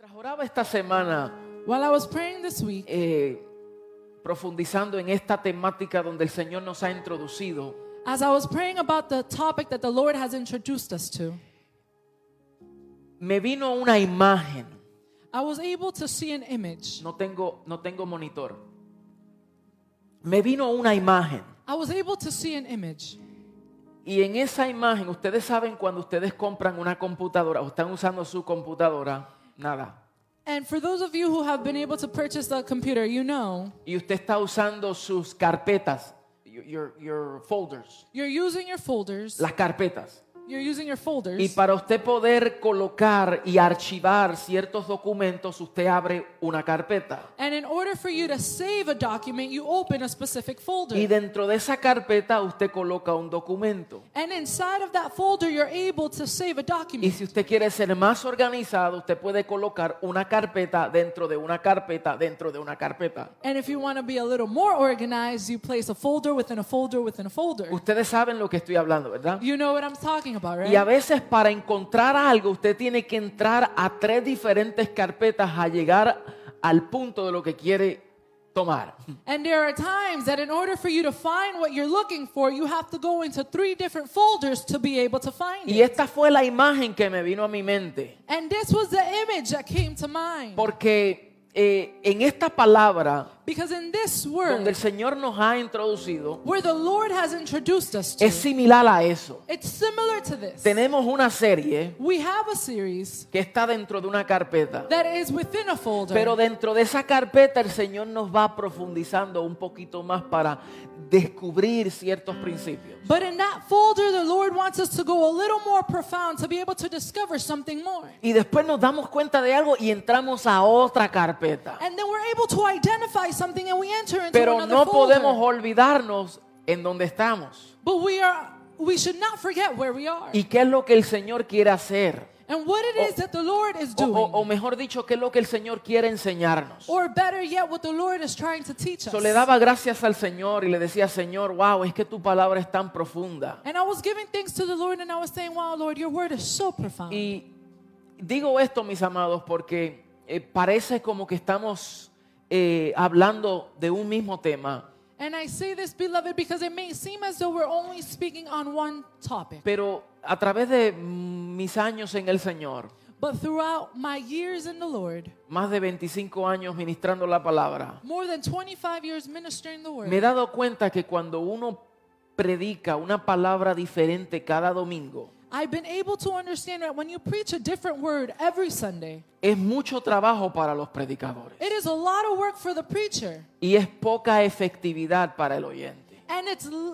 Mientras oraba esta semana, While I was praying this week, profundizando en esta temática donde el Señor nos ha introducido, as I was praying about the topic that the Lord has introduced us to, me vino una imagen. I was able to see an image. No tengo monitor. Me vino una imagen. I was able to see an image. Y en esa imagen, ustedes saben cuando ustedes compran una computadora o están usando su computadora, nada. And for those of you who have been able to purchase the computer, you know, Y usted está usando sus carpetas, your folders, you're using your folders. las carpetas. You're using your Y folders. para usted poder colocar y archivar ciertos documentos, usted abre una carpeta. And in order for you to save a document, you open a specific folder. Y dentro de esa carpeta usted coloca un documento. And inside of that folder, you're able to save a Y document. si usted quiere ser más organizado, usted puede colocar una carpeta dentro de una carpeta dentro de una carpeta. And if you want to be a little more organized, you place a folder within a folder within a folder. Ustedes saben lo que estoy hablando, ¿verdad? You know what I'm talking about, Y a right? veces para encontrar algo, usted tiene que entrar a 3 diferentes carpetas a llegar al punto de lo que quiere tomar. And there are times that in order for you to find what you're looking for, you have to go into 3 different folders to be able to find Y it. esta fue la imagen que me vino a mi mente. And this was the image that came to mind. Porque en esta palabra, Because in this donde word, el Señor nos ha introducido, where the Lord has introduced us to, es similar a eso. it's similar to this. Tenemos una serie We have a series que está dentro de una carpeta. that is within a folder. Pero dentro de esa carpeta el Señor nos va profundizando un poquito más para descubrir ciertos principios. But in that folder, the Lord wants us to go a little more profound to be able to discover something more. Y después nos damos cuenta de algo y entramos a otra carpeta. And then we're able to identify something and we enter into Pero another no folder. podemos olvidarnos en donde estamos. But we should not forget where we are. ¿Y qué es lo que el Señor quiere hacer? And what it is that the Lord is doing. O mejor dicho, qué es lo que el Señor quiere enseñarnos. Or better yet, what the Lord is trying to teach us. So, le daba gracias al Señor y le decía, Señor, wow, es que tu palabra es tan profunda. And I was giving thanks to the Lord and I was saying, wow, Lord, your word is so profound. Y digo esto, mis amados, porque parece como que estamos hablando de un mismo tema. And I say this, beloved, because it may seem as though we're only speaking on one topic. Pero a través de mis años en el Señor, But throughout my years in the Lord, más de 25 años ministrando la palabra, more than 25 years ministering the word, me he dado cuenta que cuando uno predica una palabra diferente cada domingo, I've been able to understand that when you preach a different word every Sunday, es mucho trabajo para los predicadores it is a lot of work for the preacher. y es poca efectividad para el oyente. And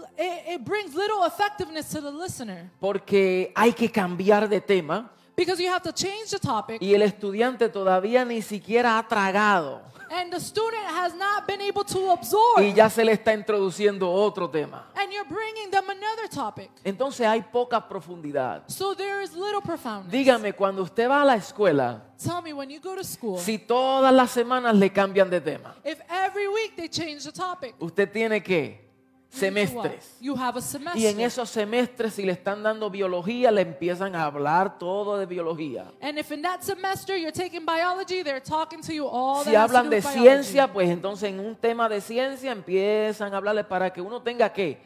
it brings little effectiveness to the listener. Porque hay que cambiar de tema Because you have to change the topic, y el estudiante todavía ni siquiera ha tragado and the student has not been able to absorb, y ya se le está introduciendo otro tema. and you're bringing them another topic. Entonces hay poca profundidad. So there is little profoundness. Dígame, cuando usted va a la escuela, Tell me, when you go to school, si todas las semanas le cambian de tema, if every week they change the topic, usted tiene que semestres. you have a semester. Y en esos semestres, si le están dando biología, le empiezan a hablar todo de biología. And if in that semester you're taking biology, they're talking to you all Si that has to hablan do de with biology. ciencia, pues entonces en un tema de ciencia empiezan a hablarle para que uno tenga ¿qué?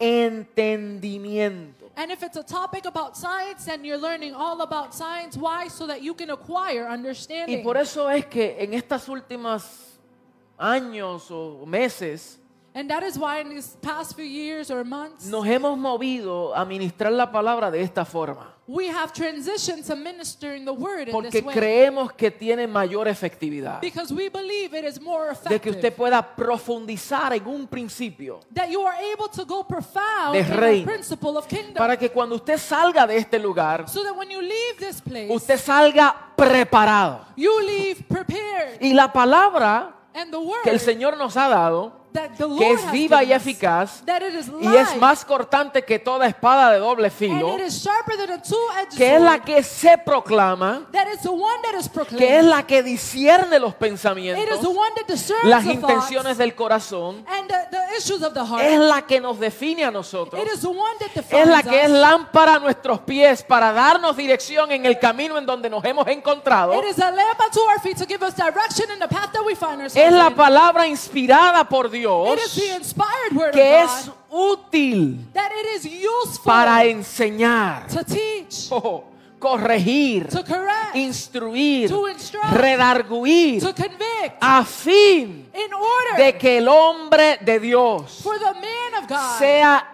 Entendimiento. And if it's a topic about science, then you're learning all about science. Why? So that you can acquire Y understanding. por eso es que en estas últimas años o meses And that is why in these past few years or months, nos hemos movido a ministrar la palabra de esta forma. we have transitioned to ministering the word in Porque this way. creemos que tiene mayor efectividad. Because we believe it is more De que usted effective. pueda profundizar en un principio. That you are able to go profound De in the reino. principle of kingdom. Para que cuando usted salga de este lugar, So that when you leave this place, usted salga preparado. you leave prepared. Y la palabra And the word que el Señor nos ha dado, that the Lord que es has viva y given us, eficaz, that it is y es live, más cortante que toda espada de doble filo, and it is sharper than a two-edged que es la sword, que se proclama, that is the one that is proclaimed, que es la que discierne los it is pensamientos, the one that discerns las the intenciones thoughts del corazón, and the issues of the es heart. la que nos define a nosotros. It is the one that Es la defines que es us. lámpara a nuestros pies para darnos dirección en el camino en donde nos hemos encontrado. It is a lamp unto our feet to give us direction in the path that we find ourselves Es la in. palabra inspirada por It is Dios the inspired word que of es God útil that it is useful para enseñar, to teach, corregir, to correct, instruir, to instruct, redarguir, to convict, a fin in order de que el hombre de Dios for the man of God. sea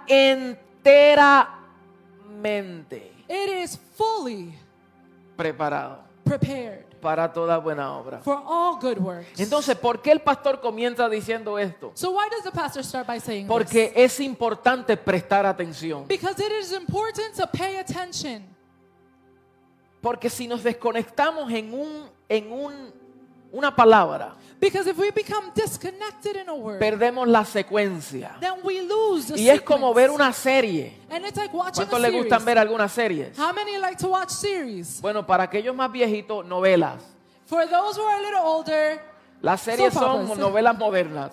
enteramente It is fully preparado prepared para toda buena obra. for all good works. Entonces, ¿por qué el pastor comienza diciendo esto? So why does the pastor start by saying Porque es importante prestar atención. this? Because it is important to pay attention. Porque si nos desconectamos una palabra, Because if we become disconnected in a word, perdemos la secuencia. then we lose the Y es como sequence. ver una serie. And it's like watching ¿Cuántos a les series. gustan ver algunas series? How many like to watch series? Bueno, para aquellos más viejitos, novelas. For those who are a little older, Las series Soap son operas. novelas modernas,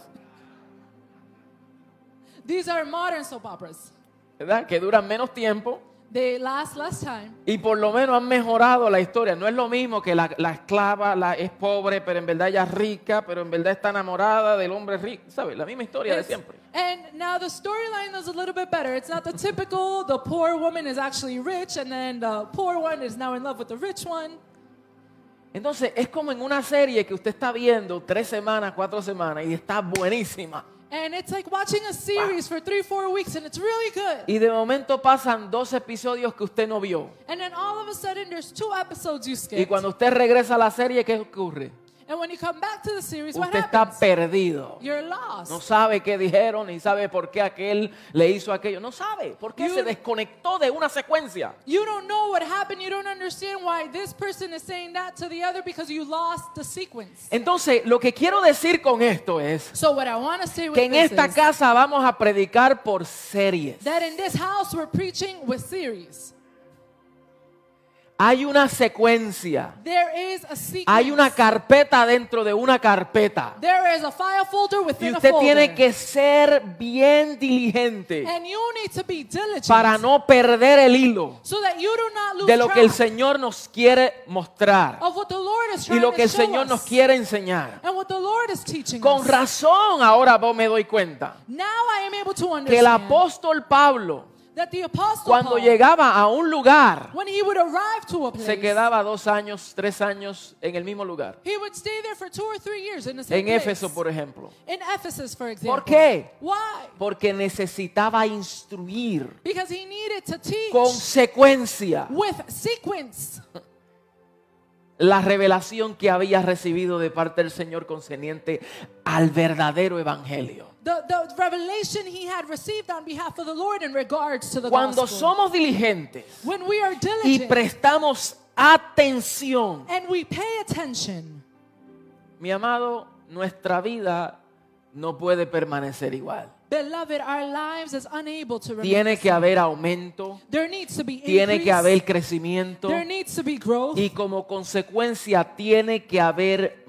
these are modern soap operas. ¿verdad? Que duran menos tiempo They last less time. y por lo menos han mejorado la historia. No es lo mismo que la esclava es pobre, pero en verdad ella es rica, pero en verdad está enamorada del hombre rico. ¿Sabes? La misma historia de It's- siempre. And now the storyline is a little bit better. It's not the typical, the poor woman is actually rich and then the poor one is now in love with the rich one. Entonces es como en una serie que usted está viendo 3 semanas, 4 semanas y está buenísima. And it's like watching a series for 3-4 weeks and it's really good. Y de momento pasan 2 episodios que usted no vio. And then all of a sudden there's 2 episodes you Y skipped. cuando usted regresa a la serie, ¿qué ocurre? And when you come back to the series, what Usted está happens? perdido. You're lost. No sabe qué dijeron, ni sabe por qué aquel le hizo aquello. No sabe, porque You- se desconectó de una secuencia. You don't know what happened. You don't understand why this person is saying that to the other because you lost the sequence. Entonces, lo que quiero decir con esto es So what I want to say with que en this esta is casa vamos a predicar por series. that in this house we're preaching with series. Hay una secuencia. There is a sequence. Hay una carpeta dentro de una carpeta. There is a file folder Y within a usted folder. tiene que ser bien diligente And you need to be diligent para no perder el hilo so that you do not lose de lo que el track Señor nos quiere mostrar of what the Lord is y trying lo que el to show Señor us nos quiere enseñar. and what the Lord is teaching Con us. razón ahora me doy cuenta Now I am able to que el understand apóstol Pablo, that the apostle cuando Paul, llegaba a un lugar, when he would arrive to a place, se quedaba 2 años, 3 años en el mismo lugar. he would stay there for 2 or 3 years in the same En place. Éfeso, por ejemplo. In Ephesus, for example. ¿Por qué? Why? Porque necesitaba instruir Because he needed to teach con secuencia with sequence la revelación que había recibido de parte del Señor concerniente al verdadero evangelio. the revelation he had received on behalf of the Lord in regards to the Cuando gospel. somos diligentes When we are y diligent prestamos atención, and we pay attention, mi amado, nuestra vida no puede permanecer igual. beloved, our lives is unable to remain. Tiene que haber aumento, There needs to be tiene que increase. haber crecimiento There needs to be growth. y como consecuencia tiene que haber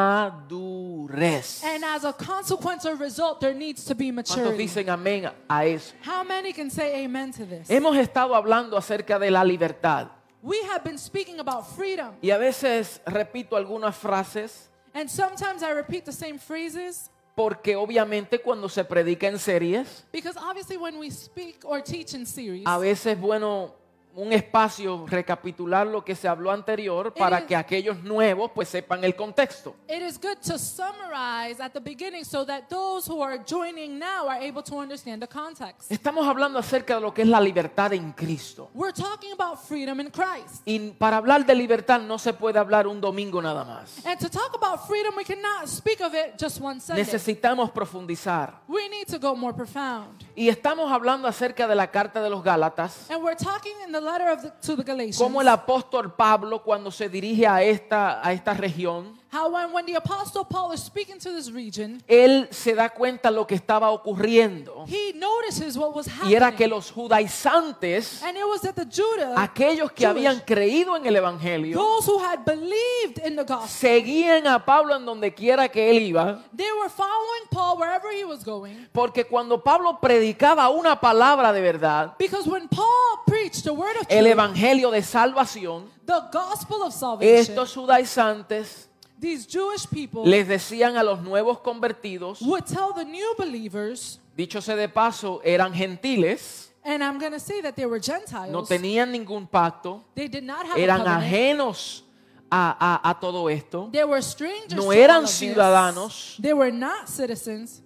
madurez. And as a consequence or result, there needs to be ¿Cuántos maturity. dicen amén a eso? How many can say amen to this? Hemos estado hablando acerca de la libertad We have been speaking about freedom. y a veces repito algunas frases And sometimes I repeat the same phrases porque obviamente cuando se predica en series, because obviously when we speak or teach in series, a veces es bueno un espacio recapitular lo que se habló anterior para que aquellos nuevos pues sepan el contexto. it is good to summarize at the beginning so that those who are joining now are able to understand the context. Estamos hablando acerca de lo que es la libertad en Cristo. We're talking about freedom in Christ. Y para hablar de libertad no se puede hablar un domingo nada más. And to talk about freedom, we cannot speak of it just one Sunday. Necesitamos profundizar. We need to go more profound. Y estamos hablando acerca de la carta de los Gálatas. And we're talking in the letter to the Galatians. Como el apóstol Pablo cuando se dirige a esta región, how when the Apostle Paul is speaking to this region, él se da cuenta lo que estaba ocurriendo. he notices what was Y era happening. que los judaizantes, And it was that the Judah, aquellos que Jewish, habían creído en el Evangelio, those who had believed in the gospel, seguían a Pablo en donde quiera que él iba, they were following Paul wherever he was going. porque cuando Pablo predicaba una palabra de verdad, Because when Paul preached the word of el truth, Evangelio de salvación, the gospel of salvation, estos judaizantes these Jewish people les decían a los nuevos convertidos, would tell the new believers, dicho sea de paso, eran gentiles, and I'm going to say that they were Gentiles. no tenían ningún pacto, They did not have a eran covenant. ajenos a todo esto, They were strangers no to eran all of this. ciudadanos, They were not citizens.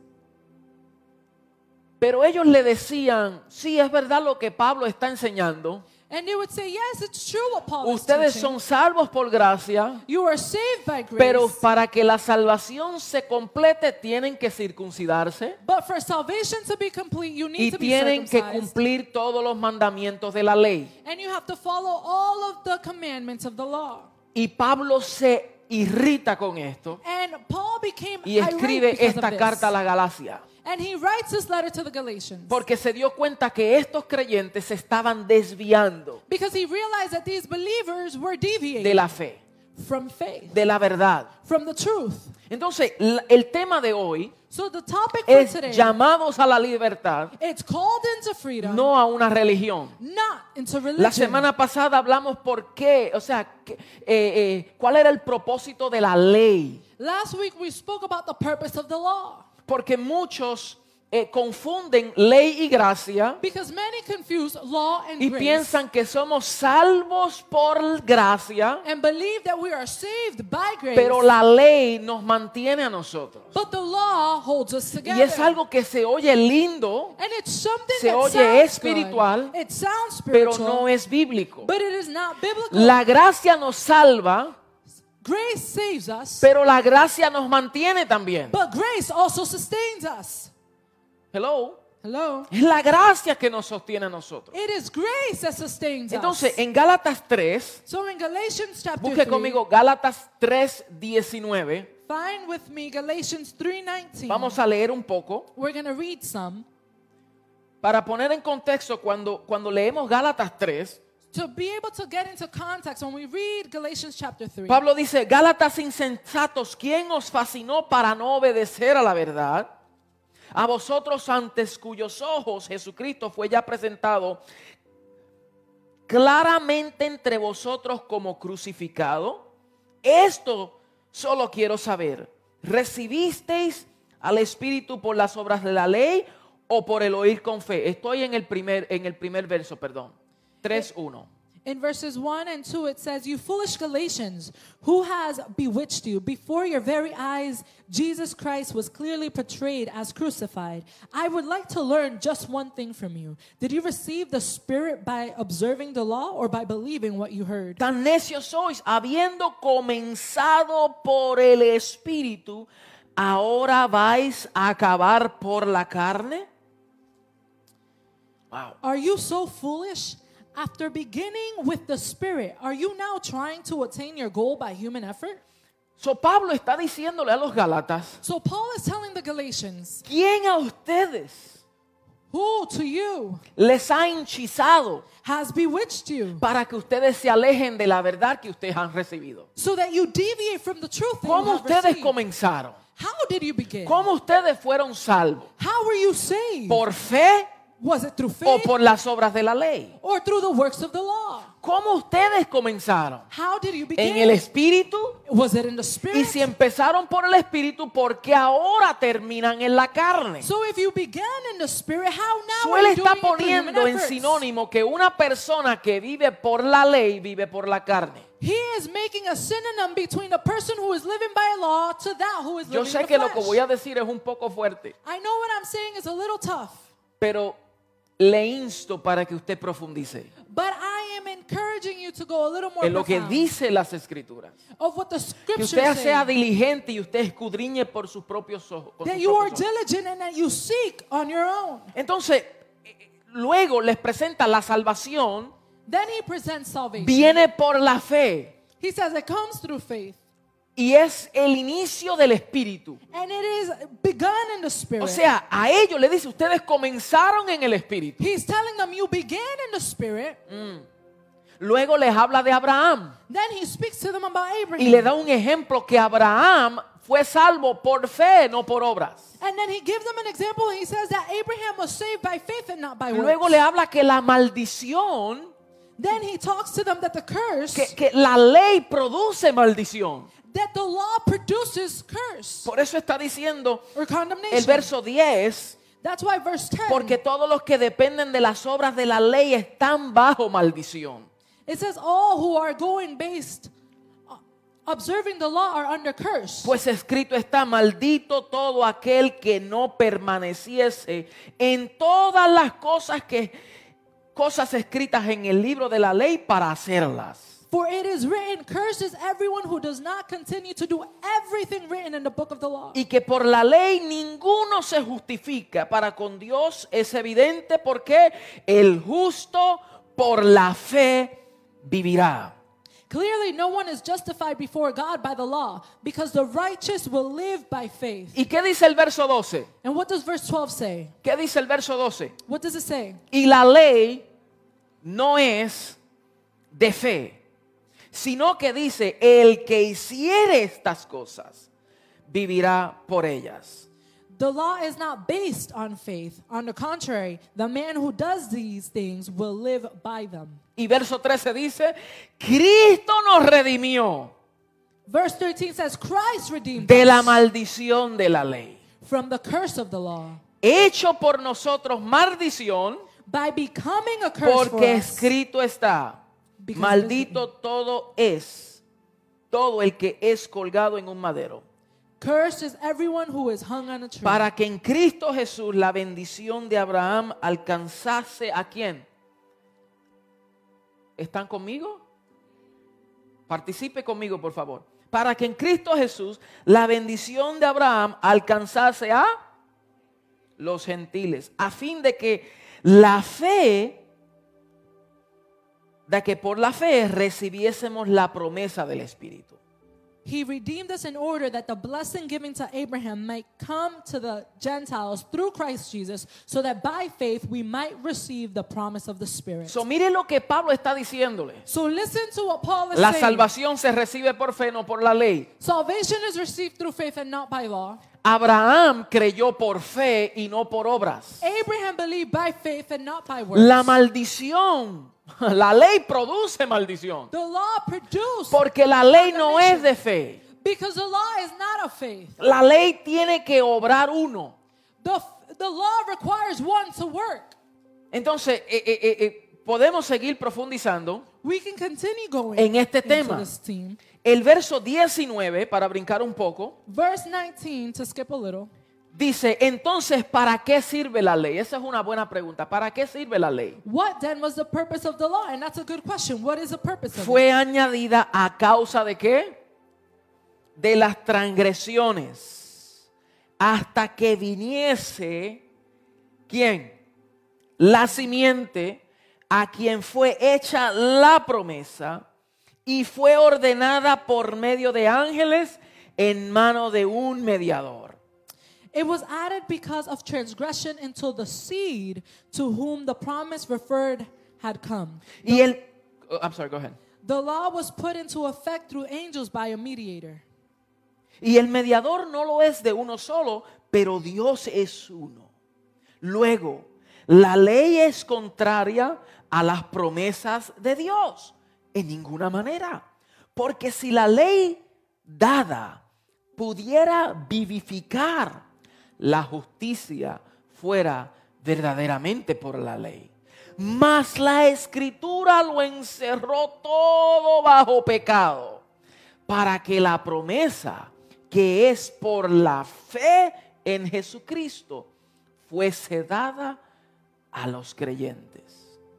pero ellos le decían, sí, es verdad lo que Pablo está enseñando, And they would say, yes, it's true what Paul ustedes is son teaching. salvos por gracia, You are saved by grace. pero para que la salvación se complete tienen que circuncidarse But for salvation to be complete, you y need to be tienen que circumcised. cumplir todos los mandamientos de la ley. And you have to follow all of the commandments of the law. Y Pablo se irrita con esto And Paul became y irate escribe because esta of this. carta a la Galacia, And he writes this letter to the Galatians. porque se dio cuenta que estos creyentes se estaban desviando Because he realized that these believers were deviating de la fe, from faith, de la verdad. from the truth. Entonces, el tema de hoy So the topic for es today, llamados a la libertad, it's called into freedom, no a una religión. not into religion. La semana pasada hablamos por qué, o sea, cuál era el propósito de la ley. Last week we spoke about the purpose of the law. Porque muchos confunden ley y gracia Because many confuse law and y grace piensan que somos salvos por gracia, and believe that we are saved by grace, pero la ley nos mantiene a nosotros. but the law holds us together. Y es algo que se oye lindo, And it's something se that oye sounds espiritual, good. It sounds pero spiritual, no es bíblico. but it is not biblical. La gracia nos salva, Grace saves us, pero la gracia nos mantiene también. but grace also sustains us. Hello. Hello? Es la gracia que nos sostiene a nosotros. It is grace that sustains Entonces, us. en Gálatas 3, So in Galatians chapter busque 3, conmigo Gálatas 3:19. find with me Galatians 3:19. Vamos a leer un poco We're going to read some. para poner en contexto cuando leemos Gálatas 3. To be able to get into context, when we read Galatians chapter 3, Pablo dice, Gálatas insensatos, ¿quién os fascinó para no obedecer a la verdad? A vosotros antes cuyos ojos Jesucristo fue ya presentado claramente entre vosotros como crucificado. Esto solo quiero saber, ¿recibisteis al Espíritu por las obras de la ley o por el oír con fe? Estoy en el primer verso, perdón. 3:1. in verses 1 and 2, it says, "You foolish Galatians, who has bewitched you? Before your very eyes, Jesus Christ was clearly portrayed as crucified. I would like to learn just one thing from you. Did you receive the Spirit by observing the law or by believing what you heard?" Tan necios sois, habiendo comenzado por el Espíritu, ¿ahora vais a acabar por la carne? Wow. Are you so foolish? After beginning with the Spirit, are you now trying to attain your goal by human effort? So Pablo está diciéndole a los Gálatas, So Paul is telling the Galatians, ¿quién a ustedes who to you les ha henchizado has bewitched you para que ustedes se alejen de la verdad que ustedes han recibido? so that you deviate from the truth that you ¿Cómo have ustedes received? comenzaron? How did you begin? ¿Cómo ustedes fueron salvos? How were you saved? ¿Por fe Was it through o faith por las obras de la ley? or through the works of the law? ¿Cómo ustedes comenzaron? How did you ¿En begin? el Espíritu? Was it in the Y Spirit? si empezaron por el Espíritu, ¿por qué ahora terminan en la carne? So if you began in the Spirit, how now Él are you está doing it through human poniendo en efforts? sinónimo que una persona que vive por la ley vive por la carne. He is making a synonym between a person who is living by law to that who is Yo living sé in que the lo que flesh. voy a decir es un poco fuerte, I know what I'm saying is a little tough, pero le insto para que usted profundice but I am encouraging you to go a little more en lo que profound dice las Escrituras. of what the Que scriptures usted sea say. diligente y usted escudriñe por sus propios ojos. con That sus you are propios ojos. diligent and that you seek on your own. Entonces, luego les presenta la salvación, Then he presents salvation. viene por la fe. He says it comes through faith. Y es el inicio del Espíritu. And it is begun in the Spirit. O sea, a ellos le dice, ustedes comenzaron en el Espíritu. He's telling them you began in the Spirit. Luego les habla de Abraham Then he speaks to them about y Abraham. le da un ejemplo que Abraham fue salvo por fe, no por obras. And then he gives them an example. He says that Abraham was saved by faith and not by Luego works. le habla que la maldición, Then he talks to them that the curse, que la ley produce maldición. that the law produces curse Por eso está diciendo or el condemnation. verso 10, That's why verse 10, porque todos los que dependen de las obras de la ley están bajo maldición. it says all who are going based, observing the law are under curse. Pues escrito está, maldito todo aquel que no permaneciese en todas las cosas escritas en el libro de la ley para hacerlas. For it is written, cursed is everyone who does not continue to do everything written in the book of the law. Y que por la ley ninguno se justifica. Para con Dios es evidente porque el justo por la fe vivirá. Clearly, no one is justified before God by the law, because the righteous will live by faith. ¿Y qué dice el verso 12? And what does verse 12 say? ¿Qué dice el verso 12? What does it say? Y la ley no es de fe, sino que dice, el que hiciere estas cosas vivirá por ellas. The law is not based on faith. On the contrary, the man who does these things will live by them. Y verso 13 dice, Cristo nos redimió Verse 13 says, Christ redeemed de la us maldición de la ley, from the curse of the law hecho por nosotros maldición, by becoming a curse for porque us. escrito está, Because maldito todo el que es colgado en un madero. Cursed is everyone who is hung on a tree. Para que en Cristo Jesús la bendición de Abraham alcanzase ¿a quién? ¿Están conmigo? Participe conmigo, por favor. Para que en Cristo Jesús la bendición de Abraham alcanzase a los gentiles, a fin de que por la fe recibiésemos la promesa del Espíritu. He redeemed us in order that the blessing given to Abraham might come to the Gentiles through Christ Jesus, so that by faith we might receive the promise of the Spirit. So, mire lo que Pablo está diciéndole. So listen to what Paul is La saying. salvación se recibe por fe, no por la ley. Salvation is received through faith and not by law. Abraham creyó por fe y no por obras. Abraham believed by faith and not by works. La maldición, la ley produce maldición. The law produced Porque la ley no es de fe. because the law is not of faith. La ley tiene que obrar uno. The law requires one to work. Entonces, podemos seguir profundizando We can continue going en este into tema. this theme. El verso 19, para brincar un poco, Verse 19, to skip a little. dice, entonces, ¿para qué sirve la ley? Esa es una buena pregunta. ¿Para qué sirve la ley? What then was the purpose of the law? And that's a good question. What is the purpose of it? Fue añadida a causa de ¿qué? De las transgresiones, hasta que viniese, ¿quién? La simiente, a quien fue hecha la promesa y fue ordenada por medio de ángeles en mano de un mediador. It was added because of transgression until the seed to whom the promise referred had come. Y I'm sorry, go ahead. The law was put into effect through angels by a mediator. Y el mediador no lo es de uno solo, pero Dios es uno. Luego, la ley es contraria a las promesas de Dios. En ninguna manera. Porque si la ley dada pudiera vivificar, la justicia fuera verdaderamente por la ley. Mas la Escritura lo encerró todo bajo pecado, para que la promesa que es por la fe en Jesucristo fuese dada a los creyentes.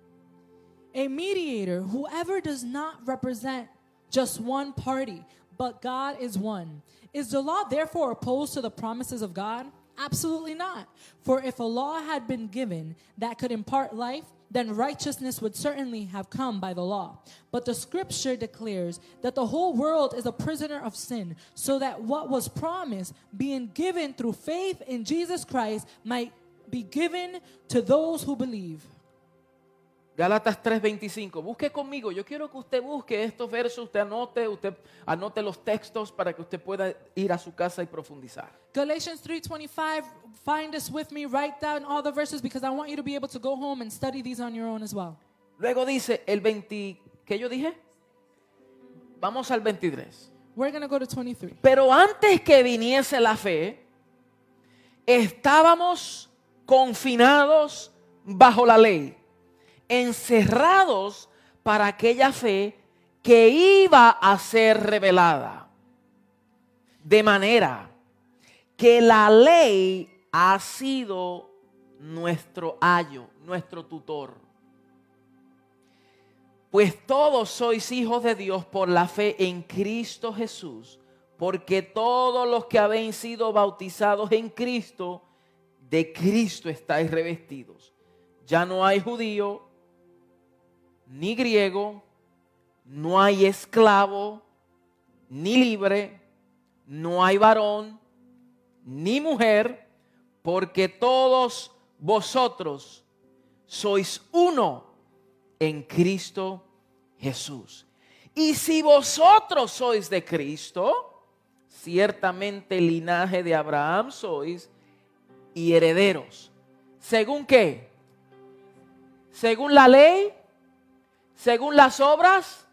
A mediator, whoever does not represent just one party, but God is one. Is the law therefore opposed to the promises of God? Absolutely not. For if a law had been given that could impart life, then righteousness would certainly have come by the law. But the scripture declares that the whole world is a prisoner of sin, so that what was promised, being given through faith in Jesus Christ, might be given to those who believe. Gálatas 3:25. Busque conmigo. Yo quiero que usted busque estos versos, usted anote los textos para que usted pueda ir a su casa y profundizar. Galatians 3:25, find this with me, write down all the verses because I want you to be able to go home and study these on your own as well. Luego dice el 20, ¿qué yo dije? Vamos al 23. We're going to go to 23. Pero antes que viniese la fe, estábamos confinados bajo la ley, encerrados para aquella fe que iba a ser revelada. De manera que la ley ha sido nuestro ayo, nuestro tutor. Pues todos sois hijos de Dios por la fe en Cristo Jesús, porque todos los que habéis sido bautizados en Cristo, de Cristo estáis revestidos. Ya no hay judío, ni griego, no hay esclavo, ni libre, no hay varón, ni mujer, porque todos vosotros sois uno en Cristo Jesús. Y si vosotros sois de Cristo, ciertamente linaje de Abraham sois y herederos. ¿Según qué? ¿Según la ley? ¿Según las obras?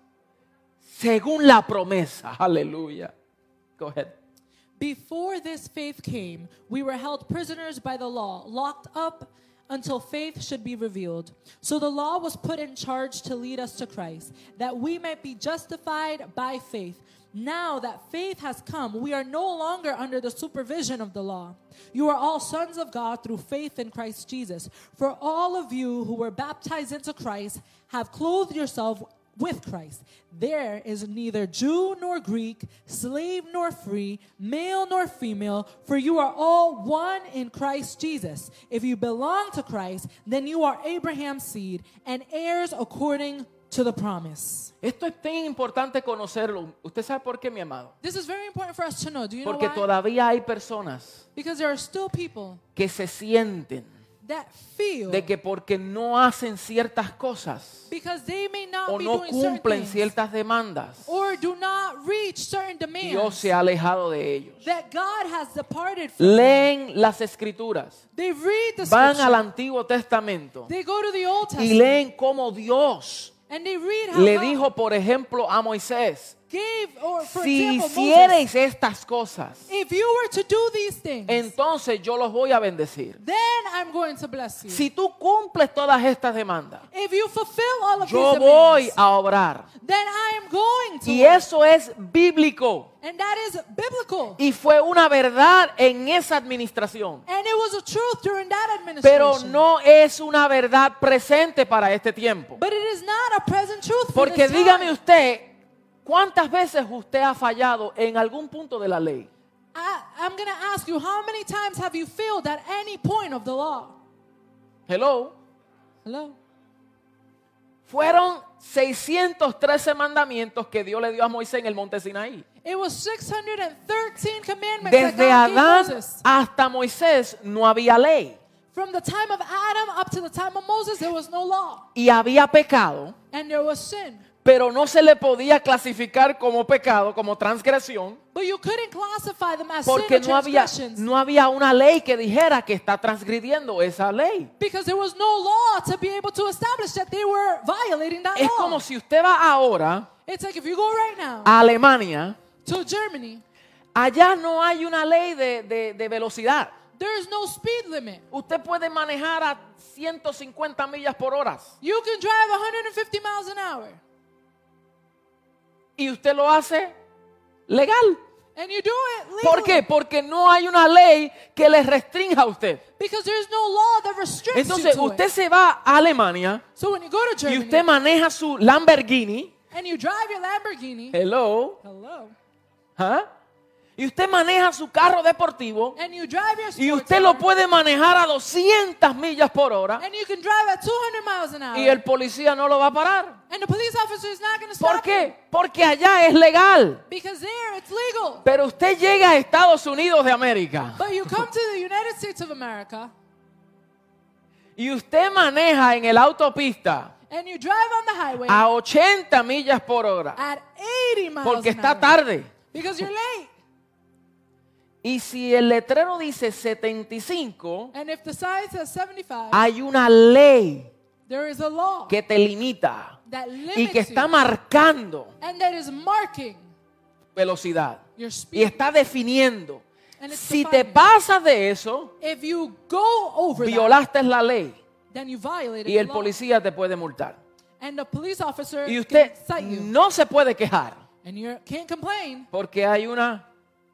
Según la promesa. Aleluya. Go ahead. Before this faith came, we were held prisoners by the law, locked up until faith should be revealed. So the law was put in charge to lead us to Christ, that we might be justified by faith. Now that faith has come, we are no longer under the supervision of the law. You are all sons of God through faith in Christ Jesus. For all of you who were baptized into Christ have clothed yourself with Christ. There is neither Jew nor Greek, slave nor free, male nor female, for you are all one in Christ Jesus. If you belong to Christ, then you are Abraham's seed and heirs according to the promise. Esto es tan importante conocerlo. ¿Usted sabe por qué, mi amado? This is very important for us to know. Do you know Porque why? todavía hay personas Because there are still people que se sienten that feel de que porque no hacen ciertas cosas because they may not o be no doing certain cumplen things ciertas demandas, or do not reach certain Dios demands se ha alejado de ellos. that God has departed from them. Leen las escrituras, They read the van scripture. al Antiguo Testamento They go to the Old y Testament leen cómo Dios and they read how le God dijo, por ejemplo, a Moisés: gave, or for si example, Moses, hiciereis estas cosas, if you were to do these things, entonces yo los voy a bendecir. then I'm going to bless you. Si tú cumples todas estas demandas, If you fulfill all of yo these voy demands, a obrar. then I am going to. Y eso es bíblico. And that is biblical. Y fue una verdad en esa administración. And it was a truth during that administration. Pero no es una verdad presente para este tiempo. But it is not a present truth for Porque this dígame time. usted, ¿cuántas veces usted ha fallado en algún punto de la ley? I'm going to ask you, how many times have you failed at any point of the law? Hello. Hello? Fueron 613 mandamientos que Dios le dio a Moisés en el monte Sinaí. It was 613 commandments Desde that God gave Adán Moses. hasta Moisés no había ley. From the time of Adam up to the time of Moses, there was no law. Y había pecado, And there was sin. pero no se le podía clasificar como pecado, como transgresión, But you couldn't classify them as porque sin or transgressions. no había una ley que dijera que está transgrediendo esa ley. Because there was no law to be able to establish that they were violating that Es law. como si usted va ahora It's like if you go right now a Alemania, to Germany, allá no hay una ley de velocidad. there is no speed limit. Usted puede manejar a 150 millas por hora You can drive 150 miles an hour. y usted lo hace legal. And you do it legally. ¿Por qué? Porque no hay una ley que le restrinja a usted. Because there's no law that restricts Entonces you to usted it. se va a Alemania So when you go to y Germany usted maneja su Lamborghini. and you drive your Lamborghini, Hello. hello, ¿Ah? y usted maneja su carro deportivo and you drive your y sports usted lo car, puede manejar a 200 millas por hora and you can drive at 200 miles an hour, y el policía no lo va a parar. and the police officer is not going to ¿Por stop you qué? Porque allá es legal. because there it's legal. Pero usted llega a Estados Unidos de América But you come to the United States of America y usted maneja en el autopista and you drive on the highway a 80 millas por hora at 80 miles porque an está hour tarde. because you're late. Y si el letrero dice 75, And if the sign says 75, hay una ley there is a law que te limita that y limits que está you marcando and that is marking velocidad your y speed. está definiendo. And it's Si te defining. pasas de eso, If you go over that, violaste la ley then you violated y el the law. policía te puede multar. And the police officer Y usted can cite you. no se puede quejar And you can't complain porque hay una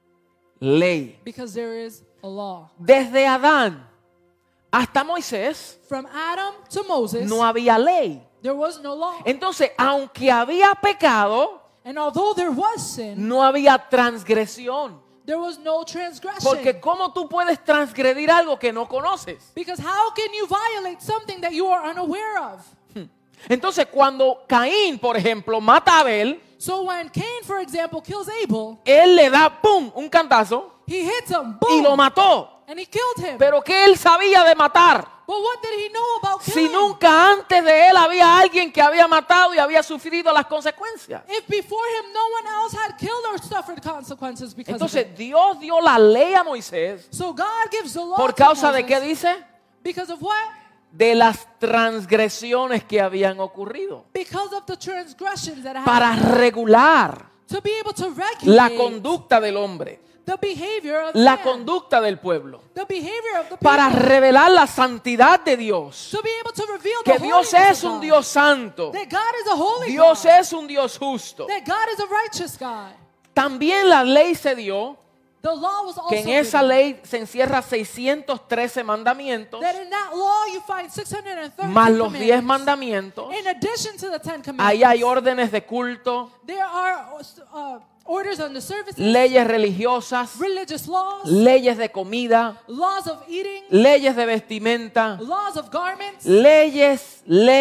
ley. because there is a law. Desde Adán hasta Moisés From Adam to Moses, no había ley. there was no law. Entonces, aunque había pecado, And although there was sin, no había transgresión. there was no transgression. Porque ¿cómo tú puedes transgredir algo que no conoces? Because how can you violate something that you are unaware of? Entonces, cuando Caín, por ejemplo, mata a Abel, So when Cain, for example, kills Abel, él le da, ¡pum!, un cantazo he hits him, y lo boom, mató. and he killed him. Pero ¿qué él sabía de matar? But what did he know about Si killing? nunca antes de él había alguien que había matado y había sufrido las consecuencias. If before him no one else had killed or suffered consequences because of Entonces it. Dios dio la ley a Moisés. So God gives the law ¿Por to causa de Moses qué dice? because of what? De las transgresiones que habían ocurrido. Because of the transgressions that Para happened. regular To be able to la regulate conducta del hombre, the behavior of la man, conducta del pueblo. the behavior of the Para people. revelar la santidad de Dios. To be able to reveal Que the Dios holiness es of un God. Dios santo. That God is a holy Dios God. es un Dios justo. That God is a righteous God. También la ley se dio The law was also que en esa given. ley se encierra 613 mandamientos That in that law you find 613 más los 10 commandments. mandamientos. In addition to the 10 commandments, Ahí hay órdenes de culto, there are orders on the services, leyes religiosas, religious laws, leyes de comida, laws of eating, leyes de vestimenta, laws of garments, leyes,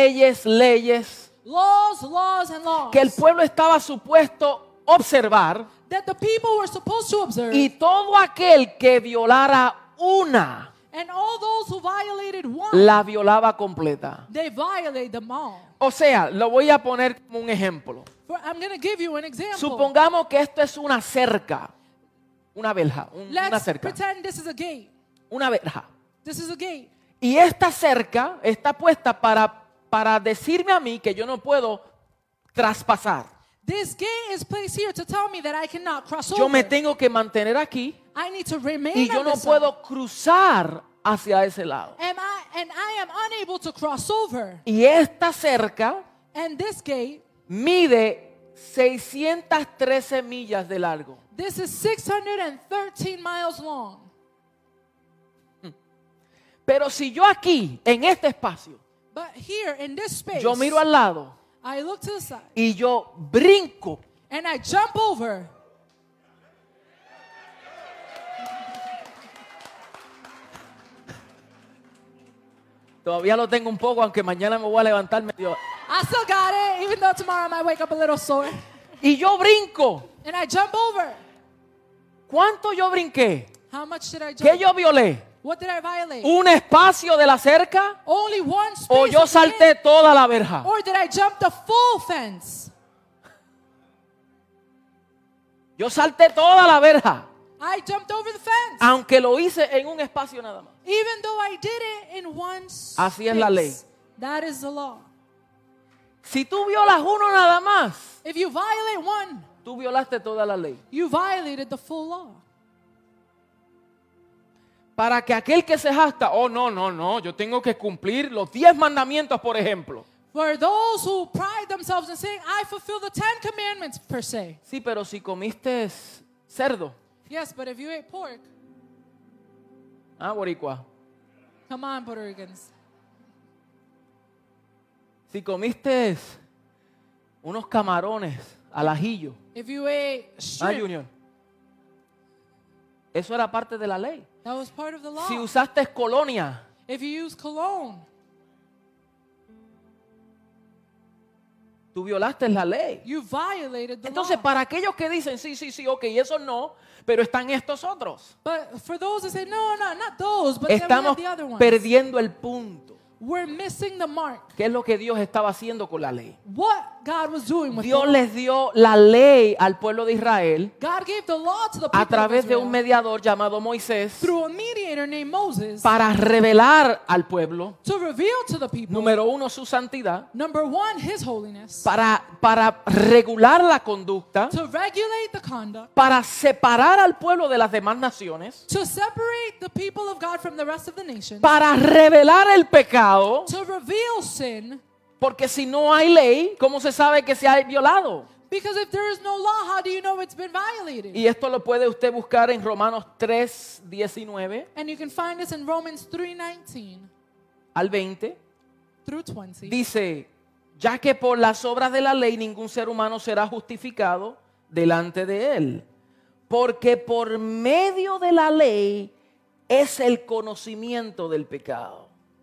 laws, and laws que el pueblo estaba supuesto observar, that the people were supposed to observe. y todo aquel que violara una And all those who violated one, la violaba completa. they violate them all. O sea, lo voy a poner como un ejemplo. I'm going to give you an example. Supongamos que esto es una cerca, una verja, una Let's cerca, pretend this is a gate. una verja. This is a gate. Y esta cerca está puesta para decirme a mí que yo no puedo traspasar. This gate is placed here to tell me that I cannot cross Yo over. me tengo que mantener aquí I need to remain y yo on no this puedo cruzar hacia ese lado. side. And I am unable to cross over. Y esta cerca And this gate, mide 613 millas de largo. this is 613 miles long. Pero si yo aquí, en este espacio, But here in this space, yo miro al lado I look to the side y yo brinco, and I jump over. todavía lo tengo un poco, aunque mañana me voy a levantar medio. I still got it, even though tomorrow I might wake up a little sore. Y yo brinco. And I jump over. ¿Cuánto yo brinqué? How much did I jump? ¿Qué yo violé? What did I violate? ¿Un espacio de la cerca? Only one space. ¿O yo of the salté gate? toda la verja? Or did I jump the full fence? Yo salté toda la verja, I jumped over the fence. aunque lo hice en un espacio nada más. Even though I did it in one space. Así es la ley. That is the law. Si tú violas uno nada más, If you violate one, tú violaste toda la ley. you violated the full law. Para que aquel que se jacta, oh no, yo tengo que cumplir los 10 mandamientos, por ejemplo. For those who pride themselves in saying, I fulfill the 10 commandments per se. Sí, pero si comiste cerdo, Yes, but if you ate pork, boricua, come on, Puerto Ricans. si comiste unos camarones al ajillo, If you ate shrimp, Junior, Eso era parte de la ley. That was part of the law. Si usaste colonia, If you use cologne, tú violaste la ley. you violated the Entonces, law. para aquellos que dicen, sí, ok, eso no, pero están estos otros, But for those that say, no, not those, but then we estamos have the other ones. perdiendo el punto. We're missing the mark. ¿Qué es lo que Dios estaba haciendo con la ley? What God was doing with Dios the law. les dio la ley al pueblo de Israel God gave the law to the people a través of de Israel un mediador llamado Moisés through a mediator named Moses para revelar al pueblo, to reveal to the people, número uno, su santidad, number one, his holiness, para regular la conducta, to regulate the conduct, para separar al pueblo de las demás naciones, to separate the people of God from the rest of the nations, para revelar el pecado, to reveal sin. porque si no hay ley, ¿cómo se sabe que se ha violado? Because if there is no law, how do you know it's been violated? Y esto lo puede usted buscar en Romanos 3:19 And you can find this in Romans 3:19 al 20. through 20. Dice, ya que por las obras de la ley ningún ser humano será justificado delante de él, porque por medio de la ley es el conocimiento del pecado.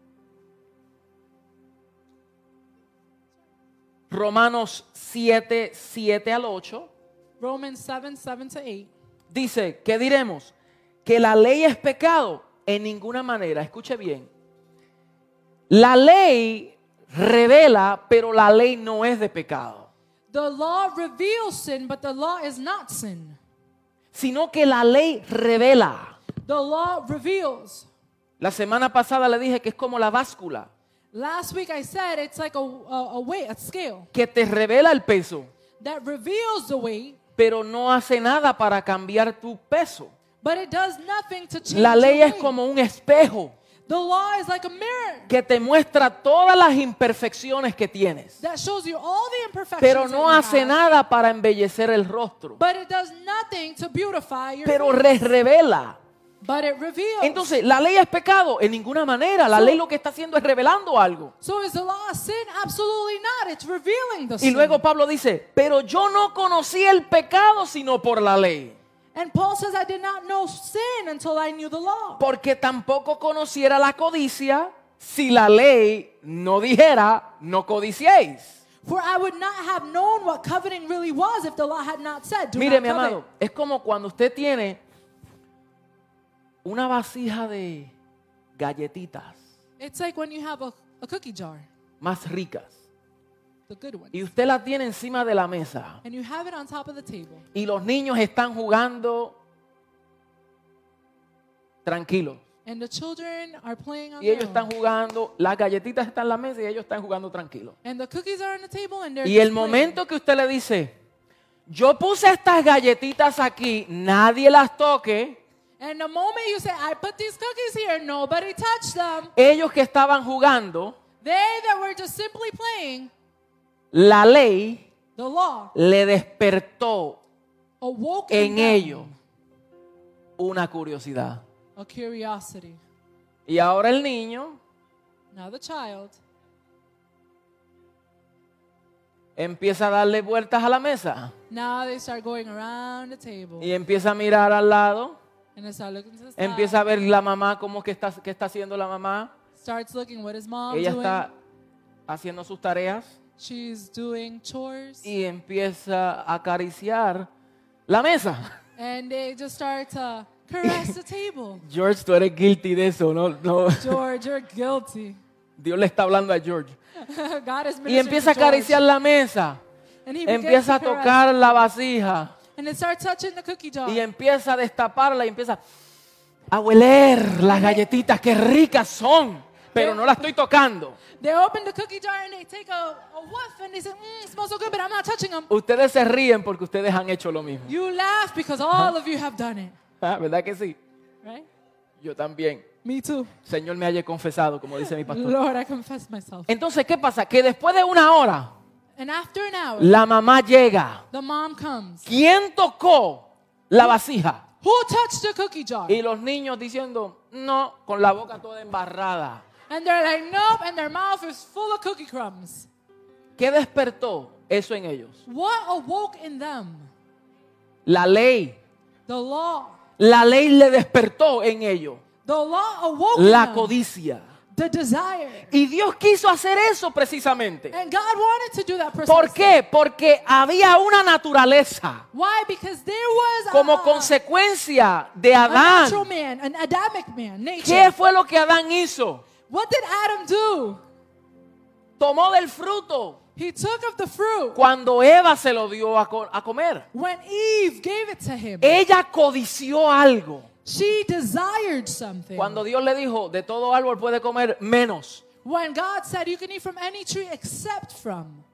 Romanos 7 al 8 Romans 7 to 8. dice, ¿qué diremos? ¿Que la ley es pecado? En ninguna manera, escuche bien. La ley revela, pero la ley no es de pecado. The law reveals sin, but the law is not sin. Sino que la ley revela. The law reveals. La semana pasada le dije que es como la báscula, Last week I said it's like a weight, a scale, que te revela el peso, that reveals the weight, pero no hace nada para cambiar tu peso. but it does nothing to change La ley your es weight. como un espejo The law is like a mirror que te muestra todas las imperfecciones que tienes, that shows you all the imperfections pero that no you hace have, nada para embellecer el rostro, but it does nothing to beautify your pero face, revela. but it reveals. Entonces, ¿la ley es pecado? En ninguna manera. La ley lo que está haciendo es revelando algo. So is the law a sin? Absolutely not. It's revealing the Y sin. luego Pablo dice, pero yo no conocí el pecado sino por la ley, And Paul says, I did not know sin until I knew the law. porque tampoco conociera la codicia si la ley no dijera, no codiciéis. For I would not have known what coveting really was if the law had not said, do Mire, not mi covet. amado, es como cuando usted tiene una vasija de galletitas It's like when you have a cookie jar, más ricas the good one, y usted la tiene encima de la mesa and you have it on top of the table. y los niños están jugando tranquilos. And the children are playing on Y ellos their están own. jugando, las galletitas están en la mesa y ellos están jugando tranquilos. And the cookies are on the table and they're Y el just playing. momento que usted le dice, yo puse estas galletitas aquí, nadie las toque, And the moment you say, I put these cookies here, nobody touched them. ellos que estaban jugando, They that were just simply playing, la ley the law le despertó awoke en in them ellos una curiosidad. a curiosity. Y ahora el niño Now the child empieza a darle vueltas a la mesa now they start going around the table y empieza a mirar al lado, and they start looking to the side. empieza a ver la mamá, cómo que está, qué está haciendo la mamá. Starts looking what is mom Ella doing. está haciendo sus tareas She's doing chores y empieza a acariciar la mesa. and they just start to caress the table. George, tú eres guilty de eso, no, no. George, you're guilty. Dios le está hablando a George. God is Y ministering empieza a to George. acariciar la mesa, And he begins empieza a to caress. tocar la vasija And it starts touching the cookie jar. y empieza a destaparla y empieza a hueler las galletitas, qué ricas son, pero no las estoy tocando. They open the cookie jar and they take a whiff and they say, it smells so good, but I'm not touching them. Ustedes se ríen porque ustedes han hecho lo mismo. You laugh because all of you have done it, Ah, ¿verdad que sí? right? Yo también. Me too. Señor me haya confesado, como dice mi pastor. Lord, I confess myself. Entonces, ¿qué pasa? Que después de una hora, And after an hour, la mamá llega. the mom comes. ¿Quién tocó la vasija? Who touched the cookie jar? Y los niños diciendo, no, con la boca toda embarrada. And they're like, nope, and their mouth is full of cookie crumbs. ¿Qué despertó eso en ellos? What awoke in them? La ley The law La ley le despertó en ello The law awoke in la them codicia. the desire. Y Dios quiso hacer eso precisamente. And God wanted to do that precisely. ¿Por qué? Porque había una naturaleza Why? Because there was como a consecuencia de natural Adán. man, an Adamic man, nature. ¿Qué fue lo que Adán hizo? What did Adam do? Tomó del fruto He took of the fruit cuando Eva se lo dio a comer. when Eve gave it to him. Ella codició algo. She desired something. Cuando Dios le dijo, de todo árbol puede comer menos. When God said you can eat from any tree except from,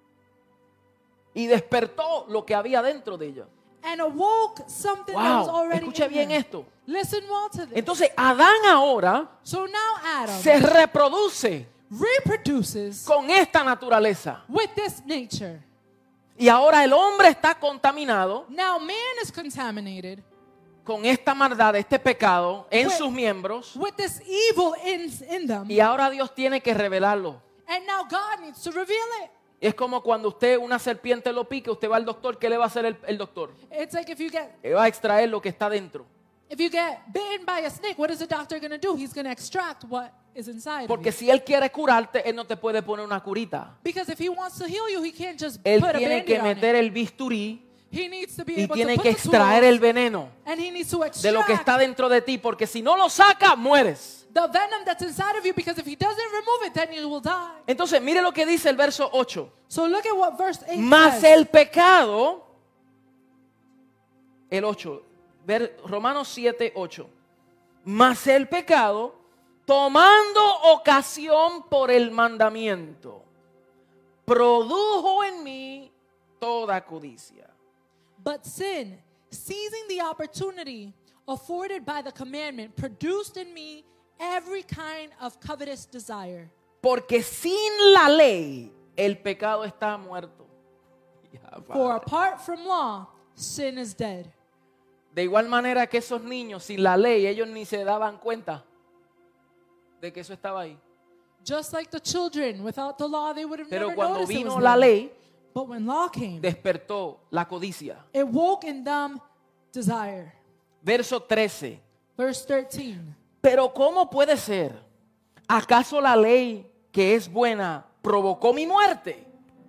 Y despertó lo que había dentro de ella. and awoke something that was Wow, already escuche in bien her. esto. Listen well to this. Entonces Adán ahora So now Adam se reproduce reproduces con esta naturaleza. with this nature. Y ahora el hombre está contaminado Now man is contaminated con esta maldad, este pecado en With- sus miembros. with this evil in them. Y ahora Dios tiene que revelarlo. And now God needs to reveal it. Es como cuando usted una serpiente lo pique, usted va al doctor, ¿qué le va a hacer el doctor? It's like if you get Le va a extraer lo que está dentro. bitten by a snake, what is the doctor going to do? He's going to extract what is inside of Porque you. si él quiere curarte, él no te puede poner una curita. Because if he wants to heal you, he can't just Él put a tiene que band-aid on it. meter el bisturí He needs to be y able tiene to que put the extraer tools, el veneno and he needs to de lo que extract está dentro de ti, porque si no lo saca, mueres. the venom that's inside of you, because if he doesn't remove it, then you will die. Entonces, mire lo que dice el verso 8. So look at what verse 8 Mas says. el pecado, el 8, Romanos 7, 8. Mas el pecado, tomando ocasión por el mandamiento, produjo en mí toda codicia. But sin, seizing the opportunity afforded by the commandment, produced in me every kind of covetous desire. Porque sin la ley, el pecado está muerto. For apart from law, sin is dead. De igual manera que esos niños, sin la ley, ellos ni se daban cuenta de que eso estaba ahí. Just like the children, without the law, they would have Pero never cuando noticed it vino was la there. ley, But when law came, despertó la codicia. it woke in them desire. Verso 13. Verse 13. Pero ¿cómo puede ser? ¿Acaso la ley que es buena provocó mi muerte?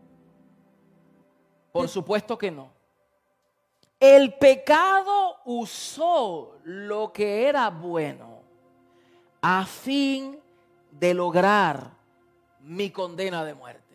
Por supuesto que no. El pecado usó lo que era bueno a fin de lograr mi condena de muerte.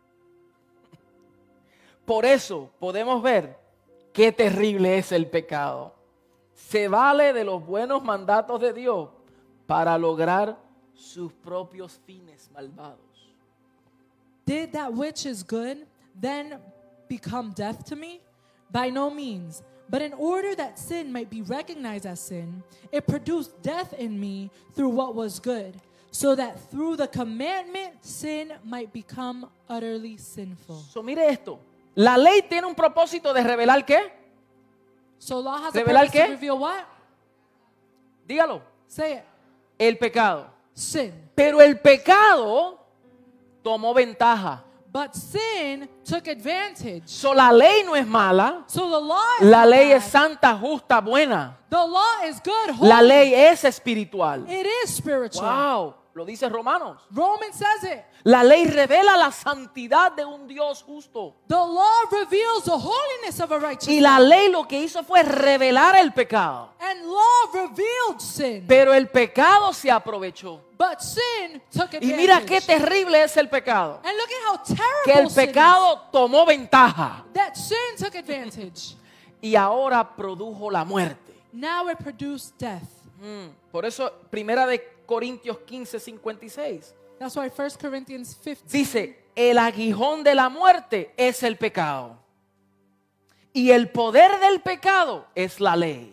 Por eso podemos ver qué terrible es el pecado. Se vale de los buenos mandatos de Dios para lograr sus propios fines malvados. Did that which is good then become death to me? By no means. But in order that sin might be recognized as sin, it produced death in me through what was good, so that through the commandment sin might become utterly sinful. So, mire esto. La ley tiene un propósito de revelar ¿qué? So law has a ¿Revelar purpose qué? to reveal what? Dígalo. Say it. El pecado. Sin. Pero el pecado tomó ventaja. But sin took advantage. So, la ley no es mala. So the law is La not ley bad. es santa, justa, buena. The law is good, holy. La ley es espiritual. It is spiritual. Wow, lo dice Romanos. Romans says it. La ley revela la santidad de un Dios justo. The law reveals the holiness of a righteous Y la God. ley lo que hizo fue revelar el pecado. And law revealed sin. Pero el pecado se aprovechó. But sin took advantage. Y mira qué terrible es el pecado. And look at how terrible Que el sin pecado tomó ventaja. is. That sin took advantage. Y ahora produjo la muerte. Now it produced death. Por eso, primera de Corintios 15:56. That's why 1 Corinthians 15 Dice, el aguijón de la muerte es el pecado. Y el poder del pecado es la ley.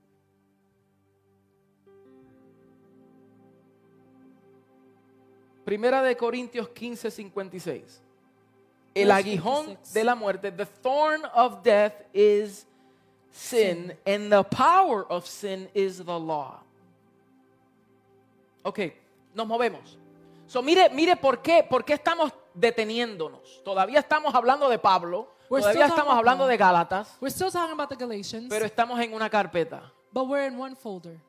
Primera de Corintios 15:56. El Verse aguijón 56. de la muerte, the thorn of death is sin, and the power of sin is the law. Ok, nos movemos. So, mire por qué estamos deteniéndonos. Todavía estamos hablando de Pablo, We're todavía still talking estamos about hablando Paul. de Gálatas, We're still talking about the Galatians, pero estamos en una carpeta. but we're in one folder.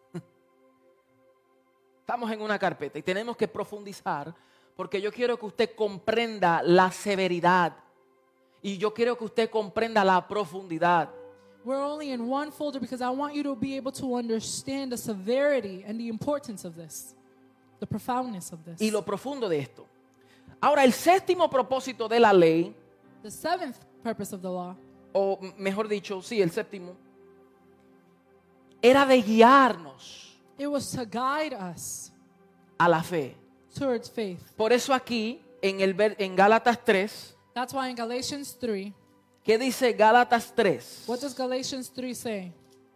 Estamos en una carpeta y tenemos que profundizar porque yo quiero que usted comprenda la severidad y yo quiero que usted comprenda la profundidad. We're only in one folder because I want you to be able to understand the severity and the importance of this, the profoundness of this. Y lo profundo de esto. Ahora, el séptimo propósito de la ley, The seventh purpose of the law, o mejor dicho, sí, el séptimo, era de guiarnos it was to guide us a la fe. towards faith. Por eso aquí, en Gálatas 3, That's why in Galatians 3, ¿qué dice Gálatas 3? what does Galatians 3 say?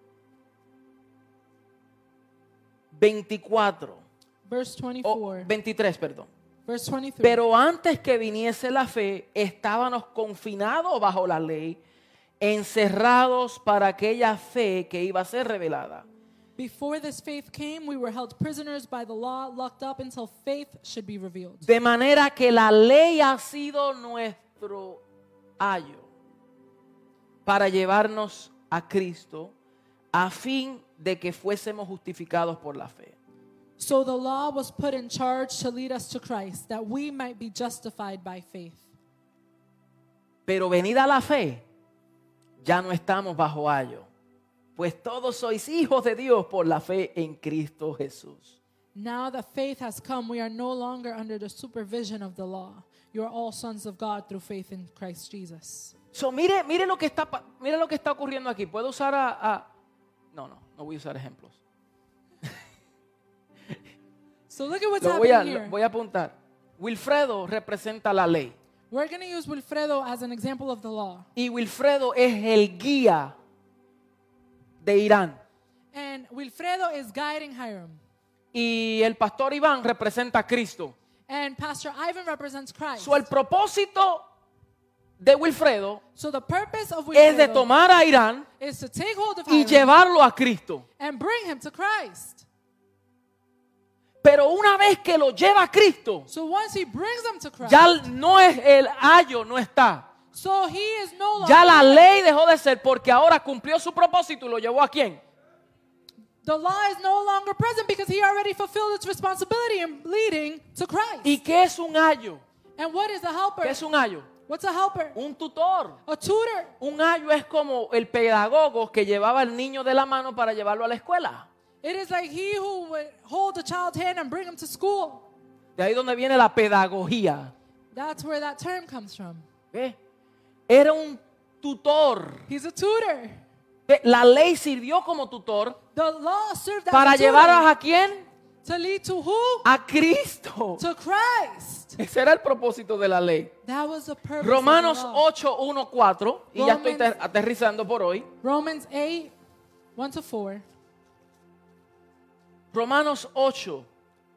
24, Verse o 24. 23, perdón. Verse 23. Pero antes que viniese la fe, estábamos confinados bajo la ley, encerrados para aquella fe que iba a ser revelada. Before this faith came, we were held prisoners by the law, locked up until faith should be revealed. De manera que la ley ha sido nuestro ayo para llevarnos a Cristo a fin de que fuésemos justificados por la fe. So the law was put in charge to lead us to Christ, that we might be justified by faith. Pero venida la fe, ya no estamos bajo ayo, pues todos sois hijos de Dios por la fe en Cristo Jesús. Now that faith has come, we are no longer under the supervision of the law. You are all sons of God through faith in Christ Jesus. So, mire lo que está ocurriendo aquí. Puedo usar no voy a usar ejemplos. So look at what's Lo happening here. voy a apuntar. Wilfredo representa la ley We're going to use Wilfredo as an example of the law. y Wilfredo es el guía de Irán. And Wilfredo is guiding Hiram. Y el pastor Iván representa a Cristo. And Pastor Ivan represents Christ. So, el propósito de Wilfredo So the purpose of es de Wilfredo tomar a Irán is to take hold of y Hiram llevarlo a Cristo. and bring him to Christ. Pero una vez que lo lleva a Cristo, So once he brings them to Christ, ya no es el ayo, no está. so he is no longer Ya la ley dejó de ser porque ahora cumplió su propósito y lo llevó a quién? the law is no longer present because he already fulfilled its responsibility in leading to Christ. ¿Y qué es un ayo? And what is a helper? ¿Qué es un ayo? What's a helper? Un tutor. A tutor. Un ayo es como el pedagogo que llevaba al niño de la mano para llevarlo a la escuela. It is like he who would hold a child's hand and bring him to school. De ahí donde viene la pedagogía. That's where that term comes from. ¿Ve? Era un tutor. He's a tutor. ¿Ve? La ley sirvió como tutor The law served as para a tutor llevarnos a quién? to lead to who? A Cristo. To Christ. Ese era el propósito de la ley. That was the purpose Romanos of the law. 8, 1, 4. Y ya estoy aterrizando por hoy. Romans 8, 1 to 4. Romanos 8,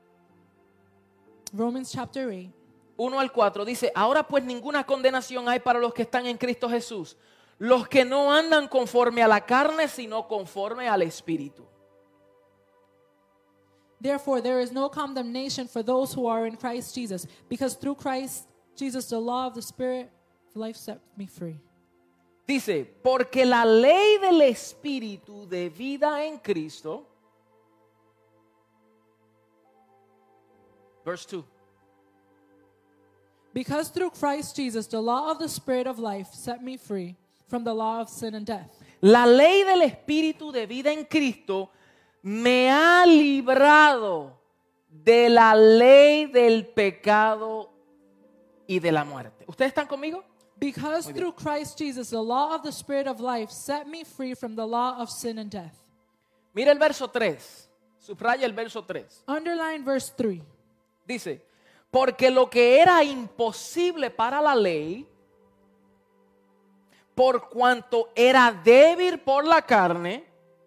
Romans chapter 8. 1 al 4 dice, ahora pues ninguna condenación hay para los que están en Cristo Jesús, los que no andan conforme a la carne, sino conforme al Espíritu. Therefore, there is no condemnation for those who are in Christ Jesus, because through Christ Jesus, the law of the Spirit of life set me free. Dice, porque la ley del Espíritu de vida en Cristo, verse 2, Because through Christ Jesus, the law of the Spirit of life set me free from the law of sin and death. la ley del Espíritu de vida en Cristo me ha librado de la ley del pecado y de la muerte. ¿Ustedes están conmigo? Because through Christ Jesus, the law of the Spirit of life set me free from the law of sin and death. Mira el verso 3. Subraya el verso 3. Underline verse 3. Dice, porque lo que era imposible para la ley, por cuanto era débil por la carne,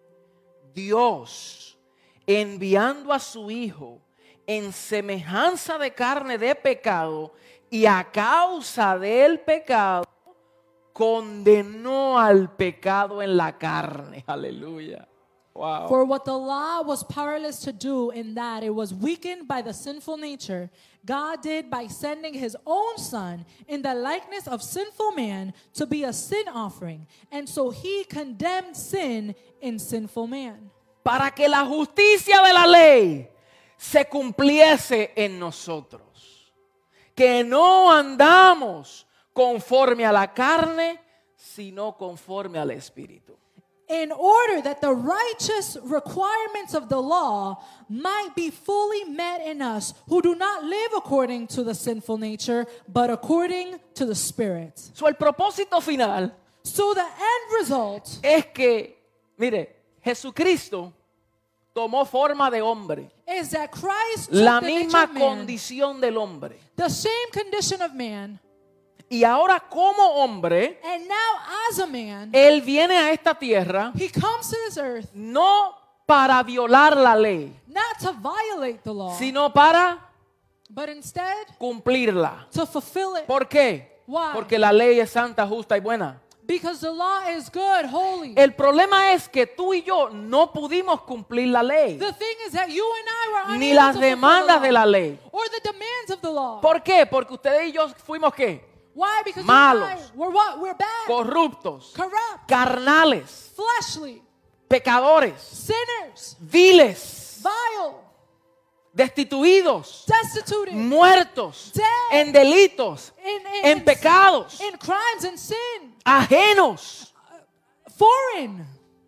Dios, enviando a su Hijo en semejanza de carne de pecado, y a causa del pecado, condenó al pecado en la carne. Aleluya. Wow. For what the law was powerless to do in that it was weakened by the sinful nature, God did by sending his own Son in the likeness of sinful man to be a sin offering. And so he condemned sin in sinful man. Para que la justicia de la ley se cumpliese en nosotros. Que no andamos conforme a la carne, sino conforme al Espíritu. In order that the righteous requirements of the law might be fully met in us who do not live according to the sinful nature, but according to the Spirit. So, el propósito final So the end result es que, mire, Jesucristo tomó forma de hombre, is that Christ took la the nature misma of man, condición del hombre. the same condition of man, Y ahora como hombre, and now as a man, Él viene a esta tierra he comes to this earth no para violar la ley, not to violate the law, sino para but instead cumplirla. to fulfill it. ¿Por qué? Why? Porque la ley es santa, justa y buena. Because the law is good, holy. El problema es que tú y yo no pudimos cumplir la ley, The thing is that you and I were ni unable las to fulfill demandas the de law, la ley. or the demands of the law. ¿Por qué? Porque ustedes y yo fuimos ¿qué? Why? Because Malos. you and I, we're what? We're bad, Corruptos, corrupt, carnales, fleshly, pecadores, sinners, viles, vile, destituidos, destitute, muertos, Dead. en delitos, en pecados, in crimes and sin, ajenos foreign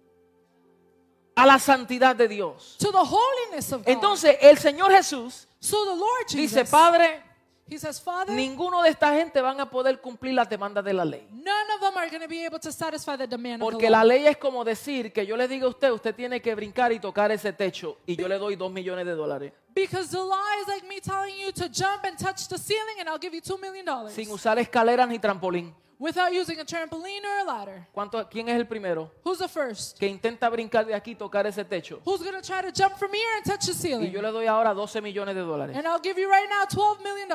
a la santidad de Dios. to the holiness of God. Entonces el Señor Jesús So the Lord Jesus, dice, Padre, he says, Father, ninguno de esta gente van a poder cumplir las demandas de la ley. none of them are going to be able to satisfy the demand of Porque the la law. ley es como decir que yo le diga a usted, usted tiene que brincar y tocar ese techo y yo le doy $2 millones Because the law is like me telling you to jump and touch the ceiling and I'll give you $2 million sin usar escaleras ni trampolín. without using a trampoline or a ladder. ¿Quién es el primero Who's the first? que intenta brincar de aquí y tocar ese techo? Who's going to try to jump from here and touch the Y ceiling? yo le doy ahora $12 millones. And I'll give you right now $12 million.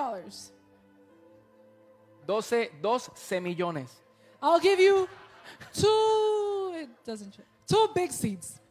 12 millones. I'll give you two big seats.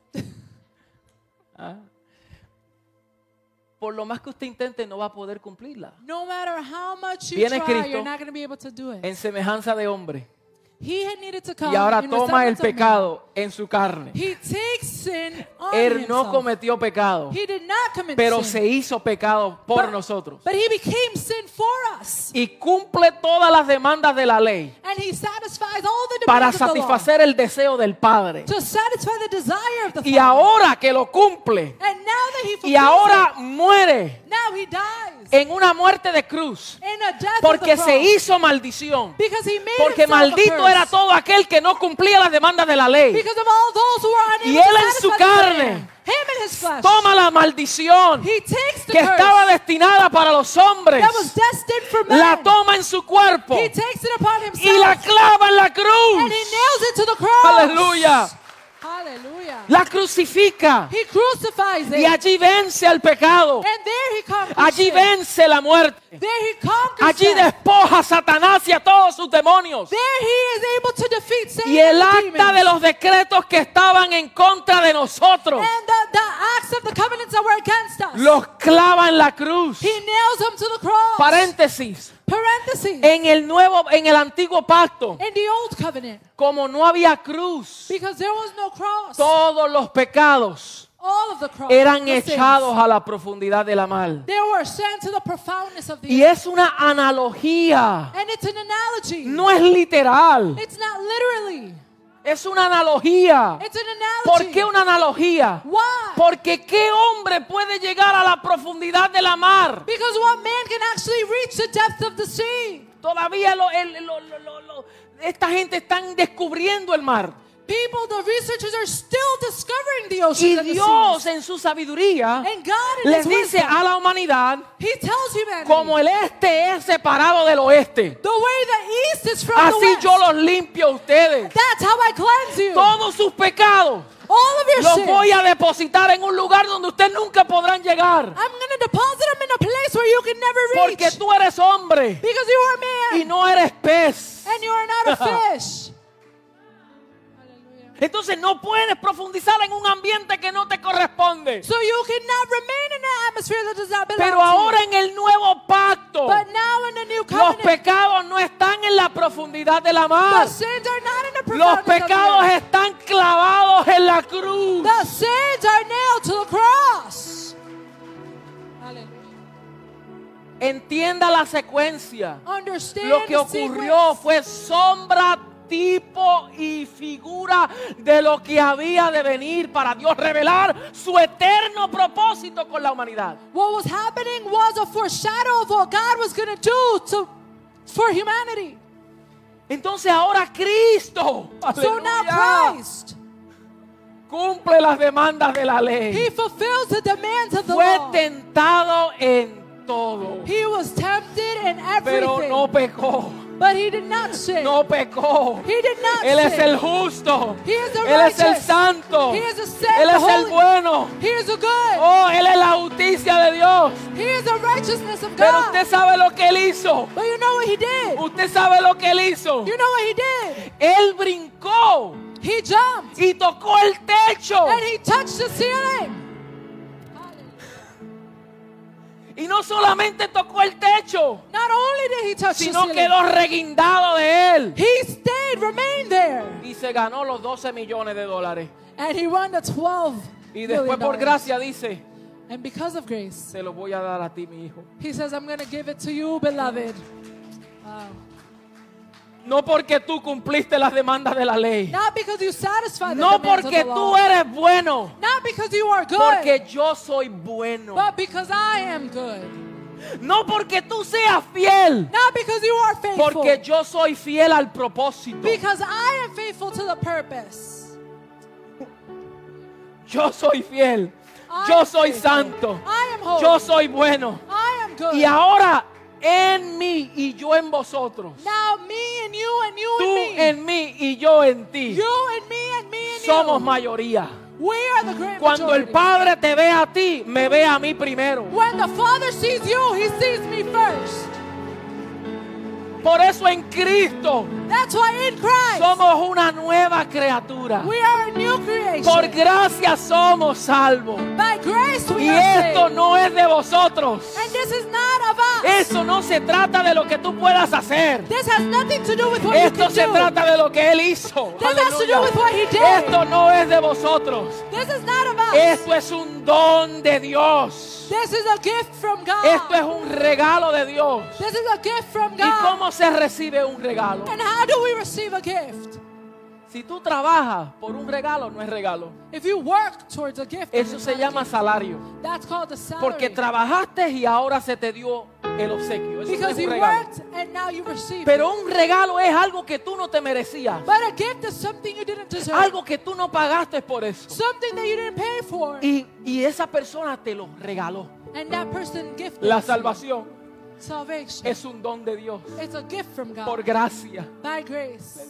Por lo más que usted intente, no va a poder cumplirla. No matter how much you Viene try, Cristo you're not going to be able to do it. En semejanza de hombre. He had needed to come Y ahora in toma el resemblance of man. pecado en su carne. He takes sin on Él no himself. cometió pecado, He did not commit pero sin. se hizo pecado por But- nosotros. But he became sin for us. Y cumple todas las demandas de la ley And he satisfies all the para demands of the law. satisfacer el deseo del Padre. To satisfy the desire of the Y Father. ahora que lo cumple And now that he y fulfills ahora it, muere now he dies. en una muerte de cruz In a death porque of the se cross. hizo maldición. Because he made Porque himself a maldito curse. era todo aquel que no cumplía las demandas de la ley. Because of all those who are unable Y él to en su satisfy the carne demand. Him in his flesh. Toma la maldición He takes the que curse estaba destinada para los hombres, that was destined for man. la toma en su cuerpo He takes it upon himself. y la clava en la and he cruz. nails it to the cross. Aleluya. Hallelujah. La crucifica He crucifies it. y allí vence al pecado. And there he conquers Allí it. vence la muerte. There he conquers Allí death. despoja a Satanás y a todos sus demonios. There he is able to defeat Satan Y el and the acta demons. de los decretos que estaban en contra de nosotros And the acts of the covenants that were against us. los clava en la cruz. He nails them to the cross. Paréntesis. Parentheses. En el antiguo pacto, In the old covenant. como no había cruz, Because there was no cross. todos los pecados All of the cross. eran the sins, echados a la profundidad de la mar. They were sent to the profoundness of the Y es una analogía, And it's an analogy. no es literal, It's not literally. es una analogía. It's an analogy. ¿Por qué una analogía? Why? Porque ¿qué hombre puede llegar a la profundidad de la mar? Because what man can actually reach the depth of the sea? Todavía esta gente están descubriendo el mar. People, the researchers are still discovering the Y oceans and the Dios seas. en su sabiduría And God in les His dice wisdom, a la humanidad, He tells humanity, como el este es separado del oeste, the way the east is from the así west. yo los limpio a ustedes. That's how I cleanse you. Todos sus pecados All of your los sins. voy a depositar en un lugar donde ustedes nunca podrán llegar. I'm going to deposit them in a place where you can never reach. Porque tú eres hombre Because you are y man. no eres pez. And you are not a fish. Hallelujah. Entonces no puedes profundizar en un ambiente que no te corresponde. So you cannot remain in an atmosphere that does not belong Pero to ahora you. en el nuevo pacto, But now in the new los covenant, pecados no están en la profundidad de la mar. the sins are not in the Los profundity of the pecados earth. están clavados en la cruz. The sins are nailed to the cross. Hallelujah. Entienda la secuencia. Understand Lo que the ocurrió sequence. fue sombra, tipo y figura de lo que había de venir para Dios revelar su eterno propósito con la humanidad. What was happening was a foreshadow of what God was going to do for humanity. Entonces ahora Cristo, So now aleluya, Christ, cumple las demandas de la ley. He fulfills the demands of the Fue law. tentado en todo, He was tempted in pero everything, no pecó. but He did not sin. No pecó. He did not Él es sin. el justo. He is the Él es el righteous. santo. He is the Él the es el holy. bueno. He is the good. Oh, Él es la justicia de Dios. He is the righteousness of Pero God. usted sabe lo que Él hizo. But you know what He did? Usted sabe lo que Él hizo. You know what He did? Él brincó He jumped y tocó el techo. and He touched the ceiling. Y no solamente tocó el techo, Not only did He touch the sino ceiling, quedó reguindado de él. He stayed, remained there. Y se ganó los 12 millones de dólares. And He won the 12 Y después million por dollars. gracia dice, And because of grace, se lo voy a dar a ti, mi hijo. He says, I'm going to give it to you, beloved. Wow. No porque tú cumpliste las demandas de la ley. Not because you satisfy the No demands porque of the tú law. eres bueno. Not because you are good. Porque yo soy bueno. But because I am good. No porque tú seas fiel. Not because you are faithful. Porque yo soy fiel al propósito. Because I am faithful to the purpose. Yo soy fiel. I Yo am soy faithful. santo. I am holy. Yo soy bueno. I am good. Y ahora en mí y yo en vosotros. Now me and you and you Tú and me. en mí y yo en ti. You and me and me and Somos you. mayoría. We are the great Cuando el majority. Padre te ve a ti, me ve a mí primero. When the Father sees you, He sees me first. Por eso en Cristo That's why in Christ somos una nueva criatura. we are a new creation. Por gracia somos salvos. By grace we Y are esto saved. no es de vosotros. And this is not of us. Eso no se trata de lo que tú puedas hacer. This has nothing to do with what you Esto can se do. trata de lo que Él hizo. This has to do Aleluya. with what He did. Esto no es de vosotros. This is not of us. Esto es un don de Dios. This is a gift from God. Esto es un regalo de Dios. This is a gift from ¿Y God. cómo se recibe un regalo? And how do we receive a gift? Si tú trabajas por un regalo, no es regalo. If you work towards a gift, Eso it's se not a llama gift. salario. That's called a salary. Porque trabajaste y ahora se te dio el obsequio. Eso no es Because un you regalo. worked and now you receive Pero it. un regalo es algo que tú no te merecías. But a gift is something you didn't deserve. Algo que tú no pagaste por eso. Something that you didn't pay for. Y esa persona te lo regaló. And that person gifted La you. salvación Salvation. es un don de Dios. It's a gift from God. Por gracia. By grace.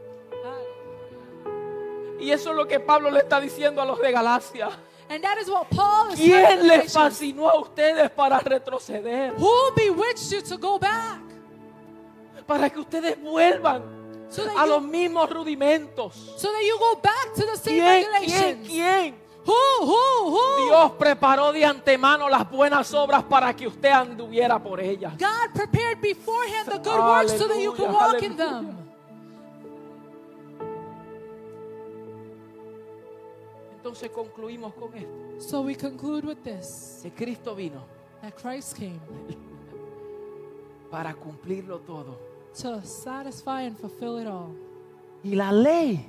Y eso es lo que Pablo le está diciendo a los de Galacia. And that is what Paul is ¿Quién telling les Galatians. fascinó a ustedes para retroceder? Who bewitched you to go back? Para que ustedes vuelvan So that, a you, los mismos rudimentos. so that you go back to the same ¿Quién? regulations. ¿Quién? Who? Dios preparó de antemano las buenas obras para que usted anduviera por ellas. God prepared beforehand the good works so that you can Aleluya, walk in aleluya. them. Entonces concluimos con esto. So we conclude with this, Que Cristo vino that Christ came para cumplirlo todo. to satisfy and fulfill it all. Y la ley.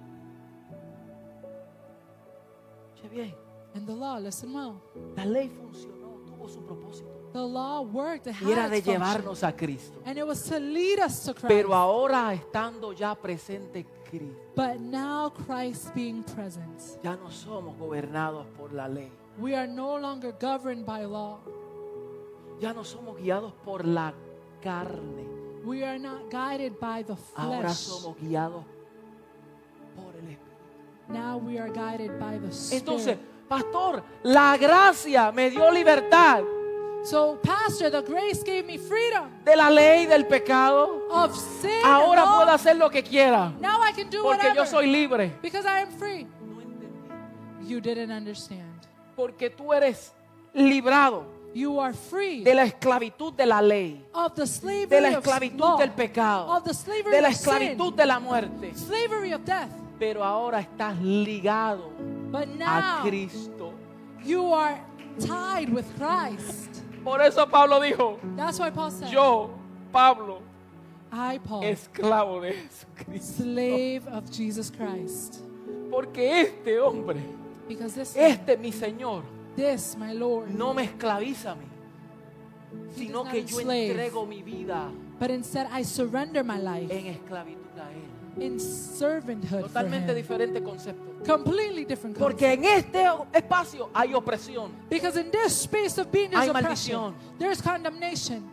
Oye bien, And the law, listen well, la ley funcionó, tuvo su propósito. the law worked, it Y era had de its function. llevarnos a Cristo. And it was to lead us to Christ. Pero ahora estando ya presente Cristo, But now Christ being present, ya no somos gobernados por la ley. we are no longer governed by law. Ya no somos guiados por la carne. We are not guided by the Ahora flesh. somos guiados por el Espíritu. Now we are guided by the Spirit. Entonces, pastor, la gracia me dio libertad. So, Pastor, the grace gave me freedom de la ley del pecado. of sin. Ahora and law. puedo hacer lo que quiera Now I can do porque whatever yo soy libre. because I am free. You didn't understand. Porque tú eres librado You are free de la esclavitud de la ley, of the slavery de la of esclavitud law, del pecado, of the slavery de la of sin, esclavitud de la muerte. slavery of death. Pero ahora estás ligado But a now Cristo. you are tied with Christ. Por eso Pablo dijo, That's why Paul said, yo, Pablo, I, Paul, esclavo de Jesucristo. slave of Jesus Christ. Porque este hombre, Because mi Señor, this, my Lord, no me esclaviza a mí, He sino does que not yo enslave. entrego mi vida but instead I surrender my life en esclavitud a Él. in servanthood for Totalmente Him. diferente concepto. Completely different concept. Porque en este espacio hay opresión, Because in this space of being there's Hay oppression, maldición. there's condemnation,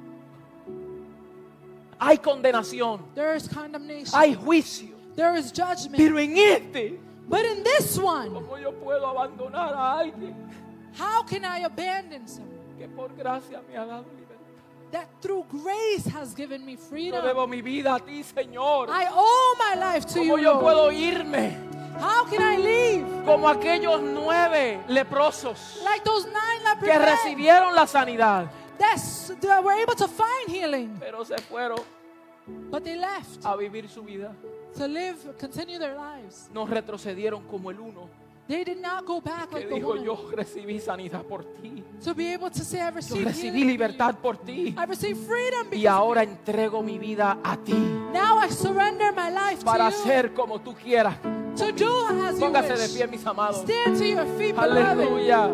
hay condenación, there's condemnation, hay juicio. there is judgment. Pero en este, But in this one, ¿cómo yo puedo abandonar a alguien how can I abandon someone que por gracia me ha dado libertad? that through grace has given me Yo freedom? debo mi vida a ti, Señor. I owe my life to you, ¿Cómo yo Lord. puedo irme How can I leave? como aquellos 9 leprosos Like those 9 leper que men recibieron la sanidad, that were able to find healing, pero se fueron but they left a vivir su vida? to live, continue their lives. No retrocedieron como el uno They did not go back que like the dijo, woman yo recibí sanidad por ti, to be able to say, I yo received recibí healing. libertad por ti, I received freedom y because ahora entrego mi vida a ti now I surrender my life para to you hacer como tú quieras. to do as you Póngase de wish. pie, mis amados. Stand to your feet, beloved. Aleluya.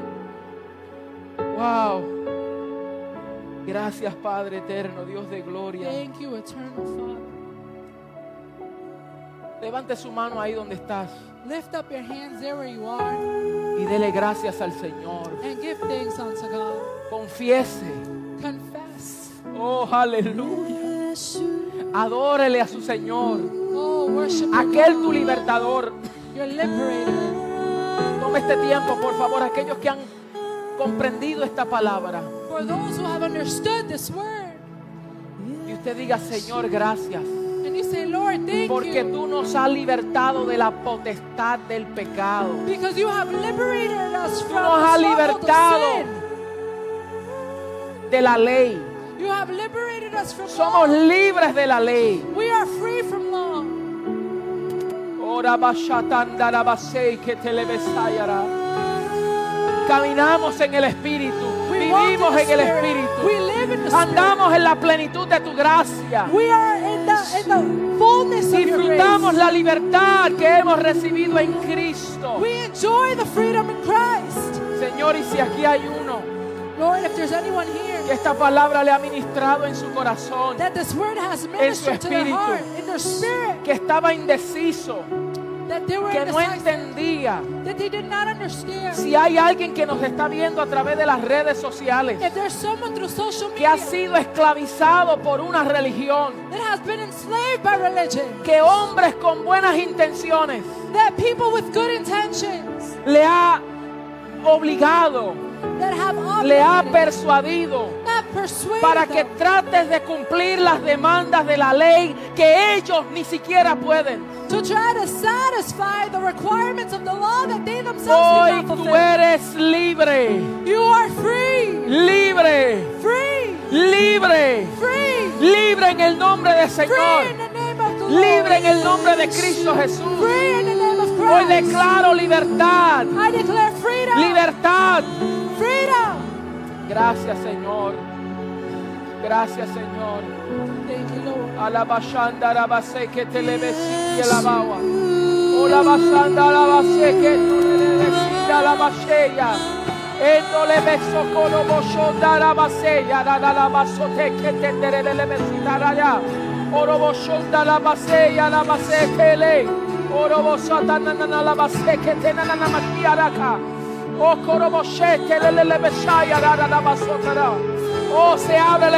Wow. Gracias, Padre eterno, Dios de gloria. Thank you, eternal Father. Levante su mano ahí donde estás Lift up your hands there where you are y dele gracias al Señor. and give thanks unto God. Confiese. Confess. Oh, aleluya. Adórele a su Señor. Oh, worship Aquel tu libertador. your liberator. Tome este tiempo, por favor, aquellos que han comprendido esta palabra. For those who have understood this word. Y usted diga, Señor, gracias. And you say, Lord, thank Porque you. tú nos has libertado de la potestad del pecado. Because you have liberated us from nos the has stronghold libertado of sin. de la ley. You have liberated us from Somos law. libres de la ley. We are free from law. Ora bashatandara basei que te le besayara. Caminamos en el Espíritu. We walk Vivimos in en the el Spirit. Espíritu. We live in the Spirit. Andamos en la plenitud de tu gracia. We are in the fullness of your Disfrutamos grace. la libertad que hemos recibido en Cristo. We enjoy the freedom in Christ. Señor, y si aquí hay uno Lord, if there's anyone here que esta palabra le ha ministrado en su corazón, that this word has ministered to their espíritu. heart, in their spirit, que estaba indeciso, that they were que no indecisive, entendía, that they did not understand. si hay alguien que nos está viendo a través de las redes sociales, If there's someone through social que ha media sido esclavizado por una religión, that has been enslaved by religion, que hombres con buenas intenciones that people with good intentions le ha obligado, that have le ha obligated, persuadido that persuaded para que them trates de cumplir las demandas de la ley que ellos ni siquiera pueden. to try to satisfy the requirements of the law that they themselves Hoy did not tú fulfill. eres libre, You are free, libre, free, libre, free, libre en el nombre del free Señor, in the name of the Lord. libre en el nombre de Cristo Jesús. Free in the name of Hoy Christ. declaro libertad, I declare freedom. libertad. Freedom. Gracias, Señor. Gracias, Señor. Thank you, Lord. Alabashanda rabase que te le besiti alabawa. Ola basanda rabase que tú le besiti alabasheya. Endo le beso colo boshonda rabaseya. Rada labasote que te le besita raya. Oro boshonda rabaseya rabase que le. Oro bosata nanana labase que te nanana makiaraka. Oh, coroboshete le besaya rada labasotara. Oh, se abre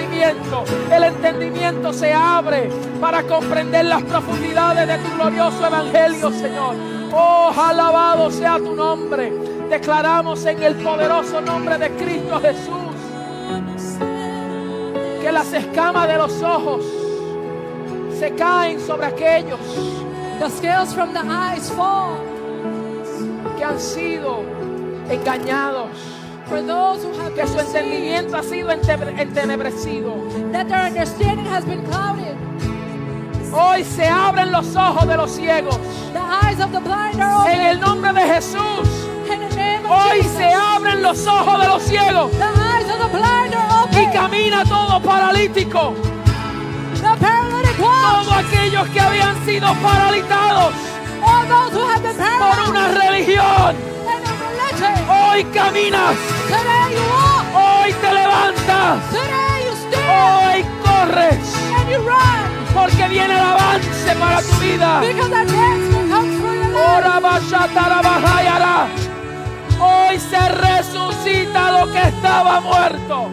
el entendimiento se abre para comprender las profundidades de tu glorioso evangelio, Señor. Oh, alabado sea tu nombre. Declaramos en el poderoso nombre de Cristo Jesús que las escamas de los ojos se caen sobre aquellos The scales from the eyes fall que han sido engañados, for those who have que been su deceived, entendimiento ha sido entenebrecido. that their understanding has been clouded. Hoy se abren los ojos de los ciegos The eyes of the blind are en open. el nombre de Jesús. In the name of Hoy Jesus. se abren los ojos de los ciegos The eyes of the blind are y open. camina todo paralítico. The paralytic walks. Todos aquellos que habían sido paralizados All those who have been por paralyzed una religión, in a religion. hoy caminas, Today you walk. hoy te levantas, Today you stand. hoy corres, And you run. porque viene el avance para tu vida. Because advancement comes for your life. Ora bashatara bahayara. Hoy se resucita lo que estaba muerto.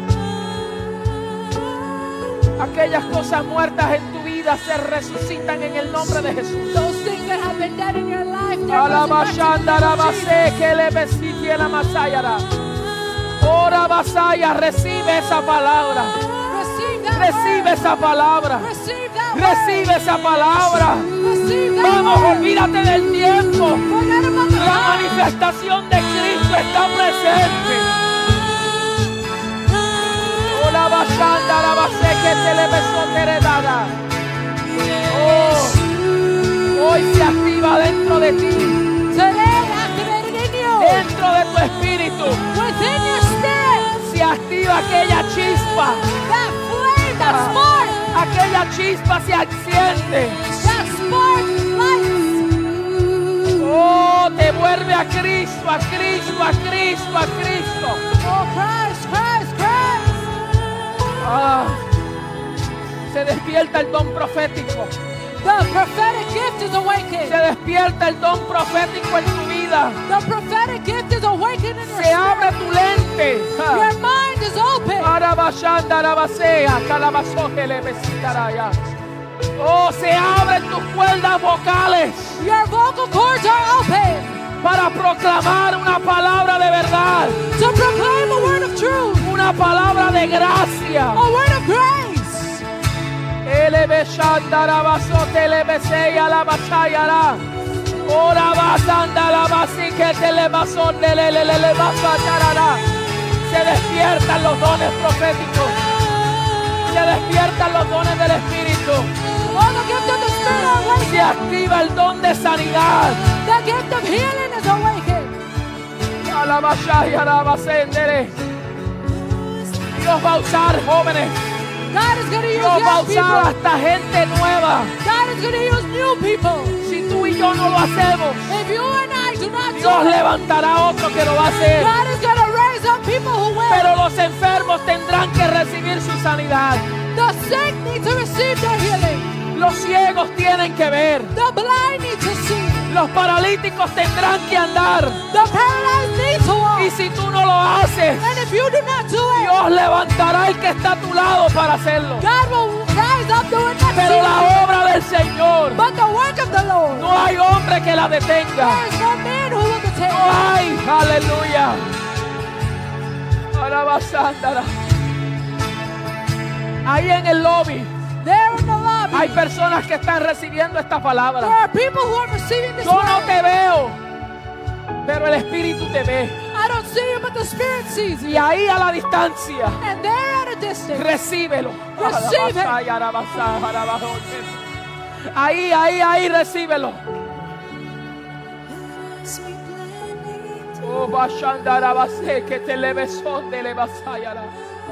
Aquellas cosas muertas en tu vida se resucitan en el nombre de Jesús. Those things that have been dead in your life, they're Alabashandara resurrected. base que le besiti la masayara. Ora basaya, recibe esa palabra. Receive that Recibe word. esa palabra. Receive that Recibe esa palabra. word. Receive that Vamos, word. olvídate del tiempo. Forget about the La time. manifestación de Cristo está presente. Ola bashanda la base que te le besó heredada. Oh, hoy se activa dentro de ti, Today activated in you. dentro de tu espíritu. Within your spirit. Se activa aquella chispa. That flame, that spark. Aquella chispa se enciende. That spark lights. Oh, te vuelve a Cristo, a Cristo, a Cristo, a Cristo. Oh, Christ, Christ, Christ. Ah, se despierta el don profético. The prophetic gift is awakened. Se despierta el don profético en tu vida. The prophetic gift is awakened in your Se abre tu lente. spirit. Your mind is open. Arabashanda, arabasea, calabazoje, le besitaraya. Oh, se abren tus cuerdas vocales Your vocal cords are open para proclamar una palabra de verdad, to proclaim a word of truth, una palabra de gracia. a word of grace. Elebeshanda, arabazote, lebeseya, alabashayara. Ora basanda, alabasi, que te lebasonde, le basayarara. Se despiertan los dones proféticos. Se despiertan los dones del Espíritu. All the gift of the Spirit are Se awakened. activa el don de sanidad. The gift of healing is awakened. Alabashaya, alabasendere. Dios va a usar jóvenes. God is going to use Dios va a young usar people. hasta gente nueva. God is going to use new people. Si tú y yo no lo hacemos, If you and I do not do Dios it, levantará otro que lo va a hacer. God is going to raise up people who will. Pero los enfermos tendrán que recibir su sanidad. The sick need to receive their healing. Los ciegos tienen que ver. The blind need to see. Los paralíticos tendrán que andar. The paralyzed need to walk. Y si tú no lo haces, And if you do not do it, Dios levantará el que está a tu lado para hacerlo. God will rise up doing next to Pero you. la obra del Señor, But the work of the Lord, no hay hombre que la detenga. there is no man who will detain. No hay, aleluya. Alabazándara. Ahí en el lobby There in the lobby, hay personas que están recibiendo esta there palabra. are people who are receiving this Yo no word. te veo, pero el Espíritu te ve. I don't see you, but the Spirit sees Y you. ahí a la distancia, And there at a distance, recíbelo. Receive it. Ahí, recíbelo. Oh, bashandarabase, que te le besó de le basayara.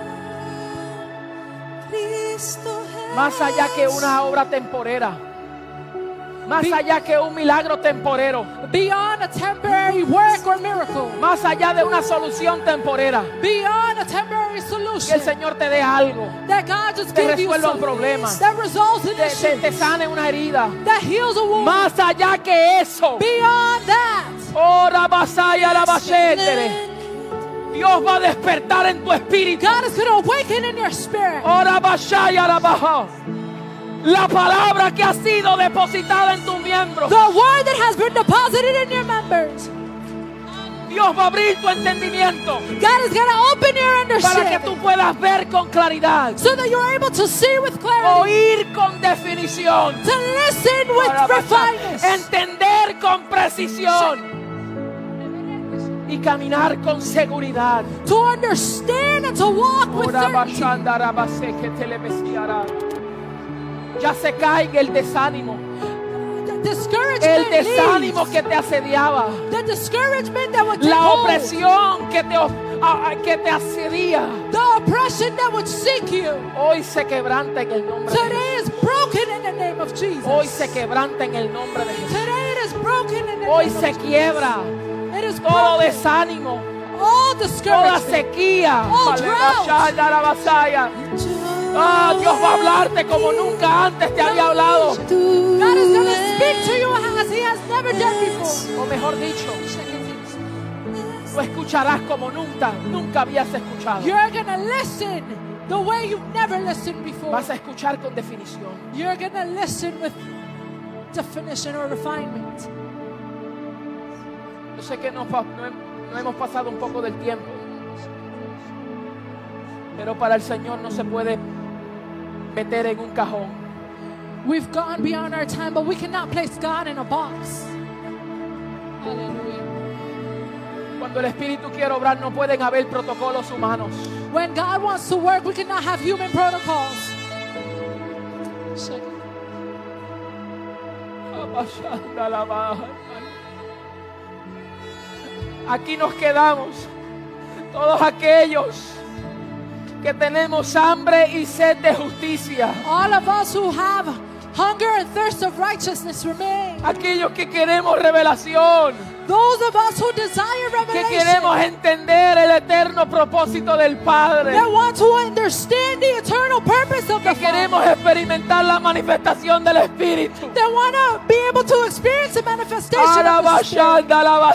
Más allá que una obra temporera, más allá que un milagro temporero, beyond a temporary work or miracle, más allá de una solución temporera, beyond a temporary que solution, el Señor te dé algo, that God just te gives you resuelva un something problema, that results in te sane una herida. that heals a wound. Más allá que eso, Beyond that, ora basaya la bashendere. Dios va a despertar en tu espíritu. God is going to awaken in your spirit Ora basaya la baja. La palabra que ha sido depositada en tus miembros. the word that has been deposited in your members. Dios va a abrir tu entendimiento God is going to open your para que tú understanding puedas ver con claridad, so that you're able to see with clarity, oír con definición, to listen with refinement, entender con precisión y caminar con seguridad. to understand and to walk with certainty. Ya se caiga el desánimo, The discouragement el desánimo leaves. que te asediaba, The discouragement that would take la hold, opresión que te asedía. the oppression that would seek you. Hoy se quebranta en el nombre de Today Jesús. is broken in the name of Jesus. Hoy se quebranta en el nombre de Jesús. Today it is broken in the Hoy name se of Jesus. quiebra It is todo broken. desánimo, All toda discouragement. sequía. All Aleluya. Ah, Dios va a hablarte como nunca antes te había hablado. God is going to speak to you as He has never done before. O mejor dicho, lo escucharás como nunca habías escuchado. You're going to listen the way you've never listened before. Vas a escuchar con definición. You're going to listen with definition or refinement. Yo sé que no hemos pasado un poco del tiempo, pero para el Señor no se puede meter en un cajón. We've gone beyond our time, but we cannot place God in a box. Hallelujah. Cuando el Espíritu quiere obrar no pueden haber protocolos humanos. When God wants to work, we cannot have human protocols. Aquí nos quedamos todos aquellos que tenemos hambre y sed de justicia, All of us who have hunger and thirst of righteousness remain. aquellos que queremos revelación, Those of us who desire que queremos revelation, entender el eterno propósito del Padre, that want to understand the eternal purpose of que the queremos Father, experimentar la manifestación del Espíritu. that want to be able to experience the manifestation of the Spirit.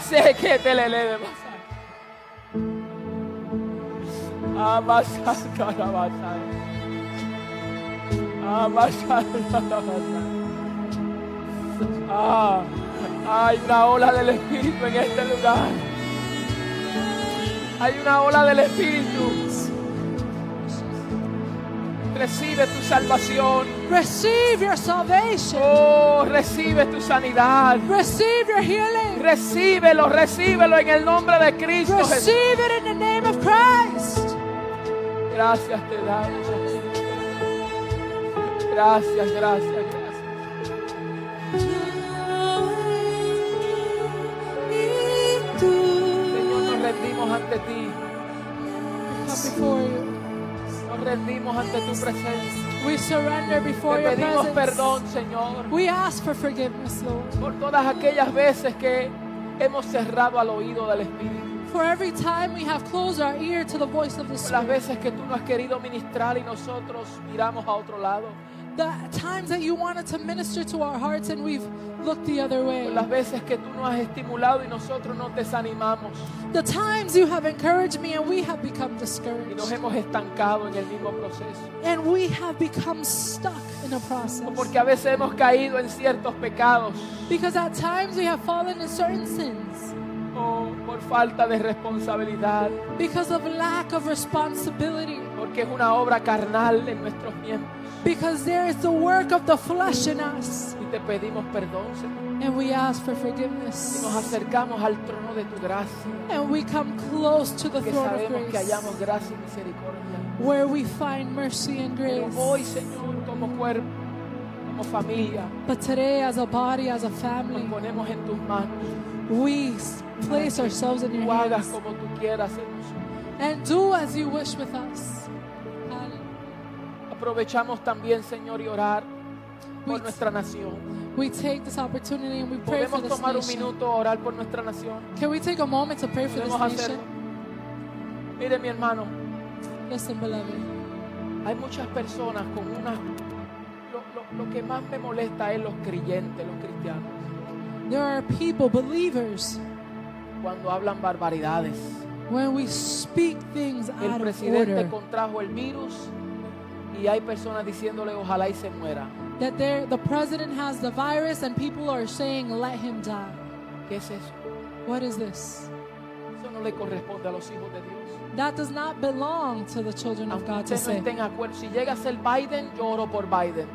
Hay una ola del Espíritu en este lugar. Hay una ola del Espíritu. Recibe tu salvación. Receive your salvation. Oh, recibe tu sanidad. Receive your healing. Recíbelo en el nombre de Cristo Jesús. Receive it in the name of Christ. Gracias te damos. Gracias. Señor, nos rendimos ante ti. Come before you. Nos rendimos ante tu presencia. We surrender before Te your pedimos presence. perdón, Señor, We ask for forgiveness, Lord. por todas aquellas veces que hemos cerrado al oído del Espíritu. For every time we have closed our ear to the voice of the Por las Spirit. veces que tú no has querido ministrar y nosotros miramos a otro lado. The times that you wanted to minister to our hearts and we've looked the other way. Por las veces que tú nos has estimulado y nosotros nos desanimamos The times you have encouraged me and we have become y nos discouraged. hemos estancado en el mismo proceso. And we have become stuck in a process. O porque a veces hemos caído en ciertos pecados Because at times we have fallen in certain sins. o por falta de responsabilidad, Because of lack of responsibility. porque es una obra carnal en nuestros miembros. Because there is the work of the flesh in us. Y te pedimos perdón, Señor. And we ask for Y forgiveness. nos acercamos al trono de tu gracia, And we come close to the que throne of sabemos que grace, hallamos gracia y misericordia. where we find mercy and Pero grace. hoy, Señor, como cuerpo, como familia, But today, as a body, as a nos family, ponemos en tus manos. we place ourselves in your Tú hagas hands como tú quieras en nosotros. and do as you wish with us. Aprovechamos también, Señor, y orar por We- nuestra nación. We take this opportunity and we pray for Podemos this tomar un nation. minuto a orar por nuestra nación. Can we take a moment to pray for this Podemos hacerlo. nation? Mire, mi hermano, Listen, beloved. hay muchas personas con una... Lo que más me molesta es los creyentes, los cristianos, There are people, believers, cuando hablan barbaridades. when we speak things El out of presidente order, contrajo el virus y hay personas diciéndole ojalá y se muera. that the president has the virus and people are saying, let him die. ¿Qué es eso? What is this? le corresponde a los hijos de Dios. That does not belong to the children of Aunque God to usted no say. esté en acuerdo, si llega a ser Biden, yo oro por Biden.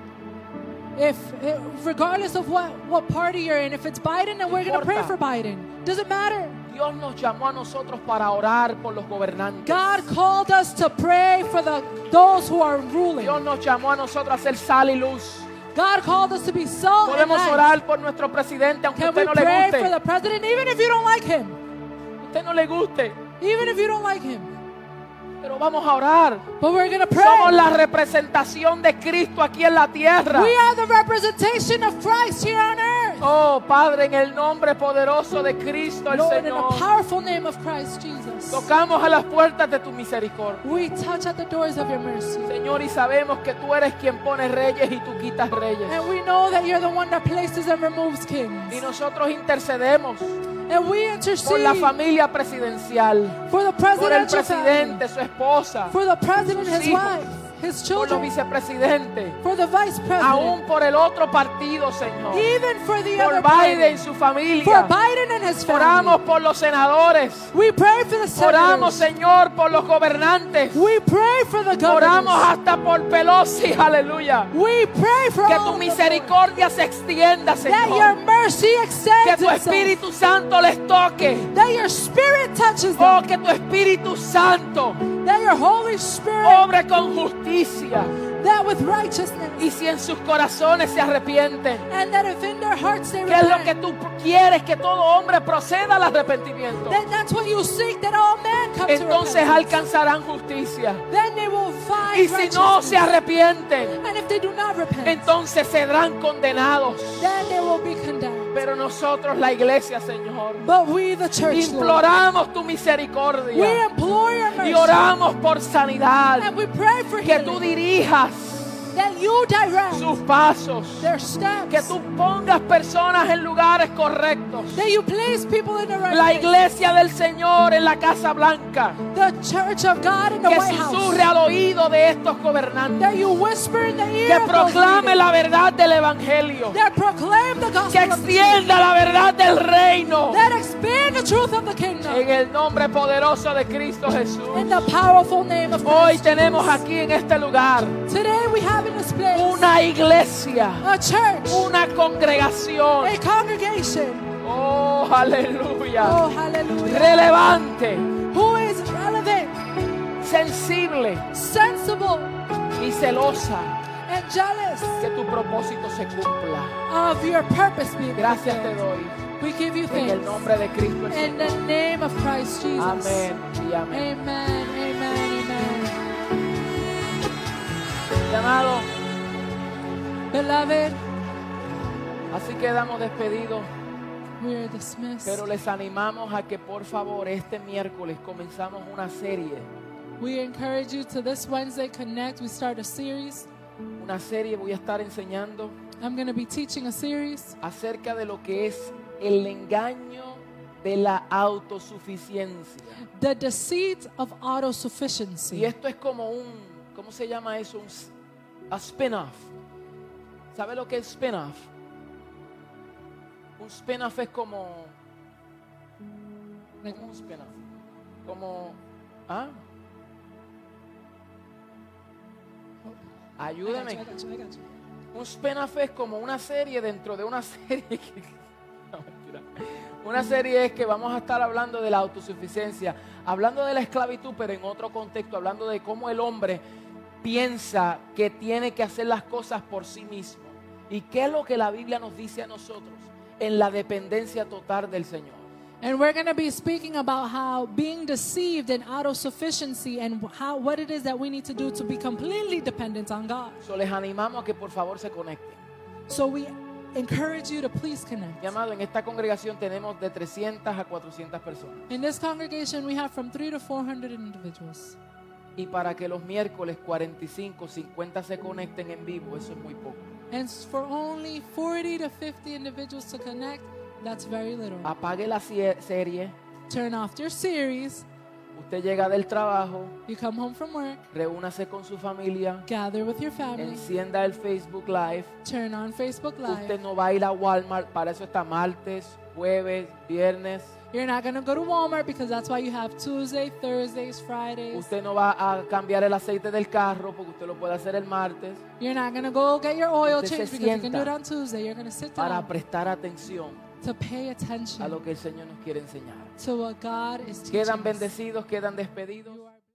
Regardless of what party you're in, if it's Biden, then we're going to pray for Biden. Doesn't matter. Dios nos llamó a nosotros para orar por los gobernantes. God called us to pray for those who are ruling. Dios nos llamó a nosotros a ser sal y luz. God called us to be salt and Podemos light. orar por nuestro presidente, aunque a Can we usted no le pray for guste. the president, even if you don't like him? Usted no le guste, Even if you don't like him. pero vamos a orar. But we're going to pray. Somos la representación de Cristo aquí en la tierra. We are the representation of Christ here on earth. Oh, Padre, en el nombre poderoso de Cristo el Lord, in the Señor, powerful name of Christ Jesus, tocamos a las puertas de tu misericordia. we touch at the doors of your mercy. Señor, y sabemos que tú eres quien pone reyes y tú quitas reyes. And we know that you're the one that places and removes kings. Y nosotros intercedemos And we por intercede la familia presidencial, for the por el presidential family, presidente, su esposa, for the president, sus his hijos, wife, his por los children, vicepresidentes, for the vice aún president, por el otro partido, Señor, even for the por other Biden y party, su for familia. Biden and his Oramos family. por los senadores, We pray for the oramos, senators. Señor, por los gobernantes, We pray for the oramos governors. hasta por Pelosi, aleluya. We pray for Que all tu of them, misericordia se extienda, that your Señor. mercy Que extends tu itself, Espíritu Santo les toque. that your spirit touches them, Oh, que tu Espíritu Santo that your Holy Spirit, obre con justicia. that with righteousness, Y si en sus corazones se arrepienten, and that if in their hearts they ¿qué es lo que repent, tú quieres? Que todo hombre proceda al arrepentimiento. then that's what you seek, that all men come Entonces to repentance. alcanzarán justicia. Then they will find Y si no se righteousness. arrepienten, And if they do not repent, entonces serán condenados. then they will be condemned. Pero nosotros, la iglesia, Señor, But we, the church, Lord, imploramos tu we misericordia implore your y mercy, oramos por sanidad. and we pray for Que tú healing, dirijas that you direct sus pasos. their Que steps, tú pongas personas en lugares correctos. that you place people in the right La place. iglesia del Señor en la Casa Blanca. The church of God in the Que White House, susurre al oído de estos gobernantes. that you whisper in the ear Que of those proclame leaders, la verdad del Evangelio. that proclaim the Que gospel of the truth, extienda la verdad del reino. that expand the truth of the kingdom, En el nombre poderoso de Cristo Jesús. in the powerful name of Hoy Christ. tenemos aquí en este lugar Today we have in this place una iglesia, a church, una congregación. a congregation, Oh, aleluya. oh hallelujah, Relevante, who is relevant, sensible sensible, y celosa. and jealous Que tu propósito se cumpla. of your purpose being Gracias te fulfilled. doy. We give you En el thanks nombre de Cristo el in Señor. the name of Christ Jesus. Amén y amén. Amen, amen, amen. Mi amado, Beloved, así quedamos despedidos. we are dismissed. Pero les animamos a que por favor este miércoles comenzamos una serie. We encourage you to this Wednesday Connect. We start a series. Una serie voy a estar enseñando I'm going to be teaching a series acerca de lo que es el engaño de la autosuficiencia. The Deceit of Y Autosufficiency. esto es como ¿cómo se llama eso? A spin-off. ¿Sabe lo que es spin-off? Un spin-off es como un spin-off. ¿Ah? Ayúdame. I got you. Un spin-off es como una serie dentro de una serie. No, mentira. Una serie es que vamos a estar hablando de la autosuficiencia, hablando de la esclavitud, pero en otro contexto, hablando de cómo el hombre piensa que tiene que hacer las cosas por sí mismo. ¿Y qué es lo que la Biblia nos dice a nosotros? En la dependencia total del Señor. And we're going to be speaking about how being deceived in autosufficiency and what it is that we need to do to be completely dependent on God. So, les animamos a que por favor se conecten. So we encourage you to please connect. Mi amado, en esta congregación tenemos de 300 a 400 personas. In this congregation, we have from 300 to 400 individuals. Y para que los miércoles 45, 50 se conecten en vivo, eso es muy poco. And for only 40 to 50 individuals to connect, that's very little. Apague la serie. Turn off your series. Usted llega del trabajo, You come home from work, reúnase con su familia, gather with your family, encienda el Facebook Live. turn on Facebook Live. Usted no va a ir a Walmart, para eso está martes, jueves, viernes. You're not going to go to Walmart because that's why you have Tuesday, Thursdays, Fridays. Usted no va a cambiar el aceite del carro porque usted lo puede hacer el martes. You're not going to go get your oil Usted changed se because you can do it sienta on Tuesday. You're going to sit para down prestar atención to pay a attention lo que el Señor nos quiere enseñar. to what God is teaching Quedan us. bendecidos, quedan despedidos. You are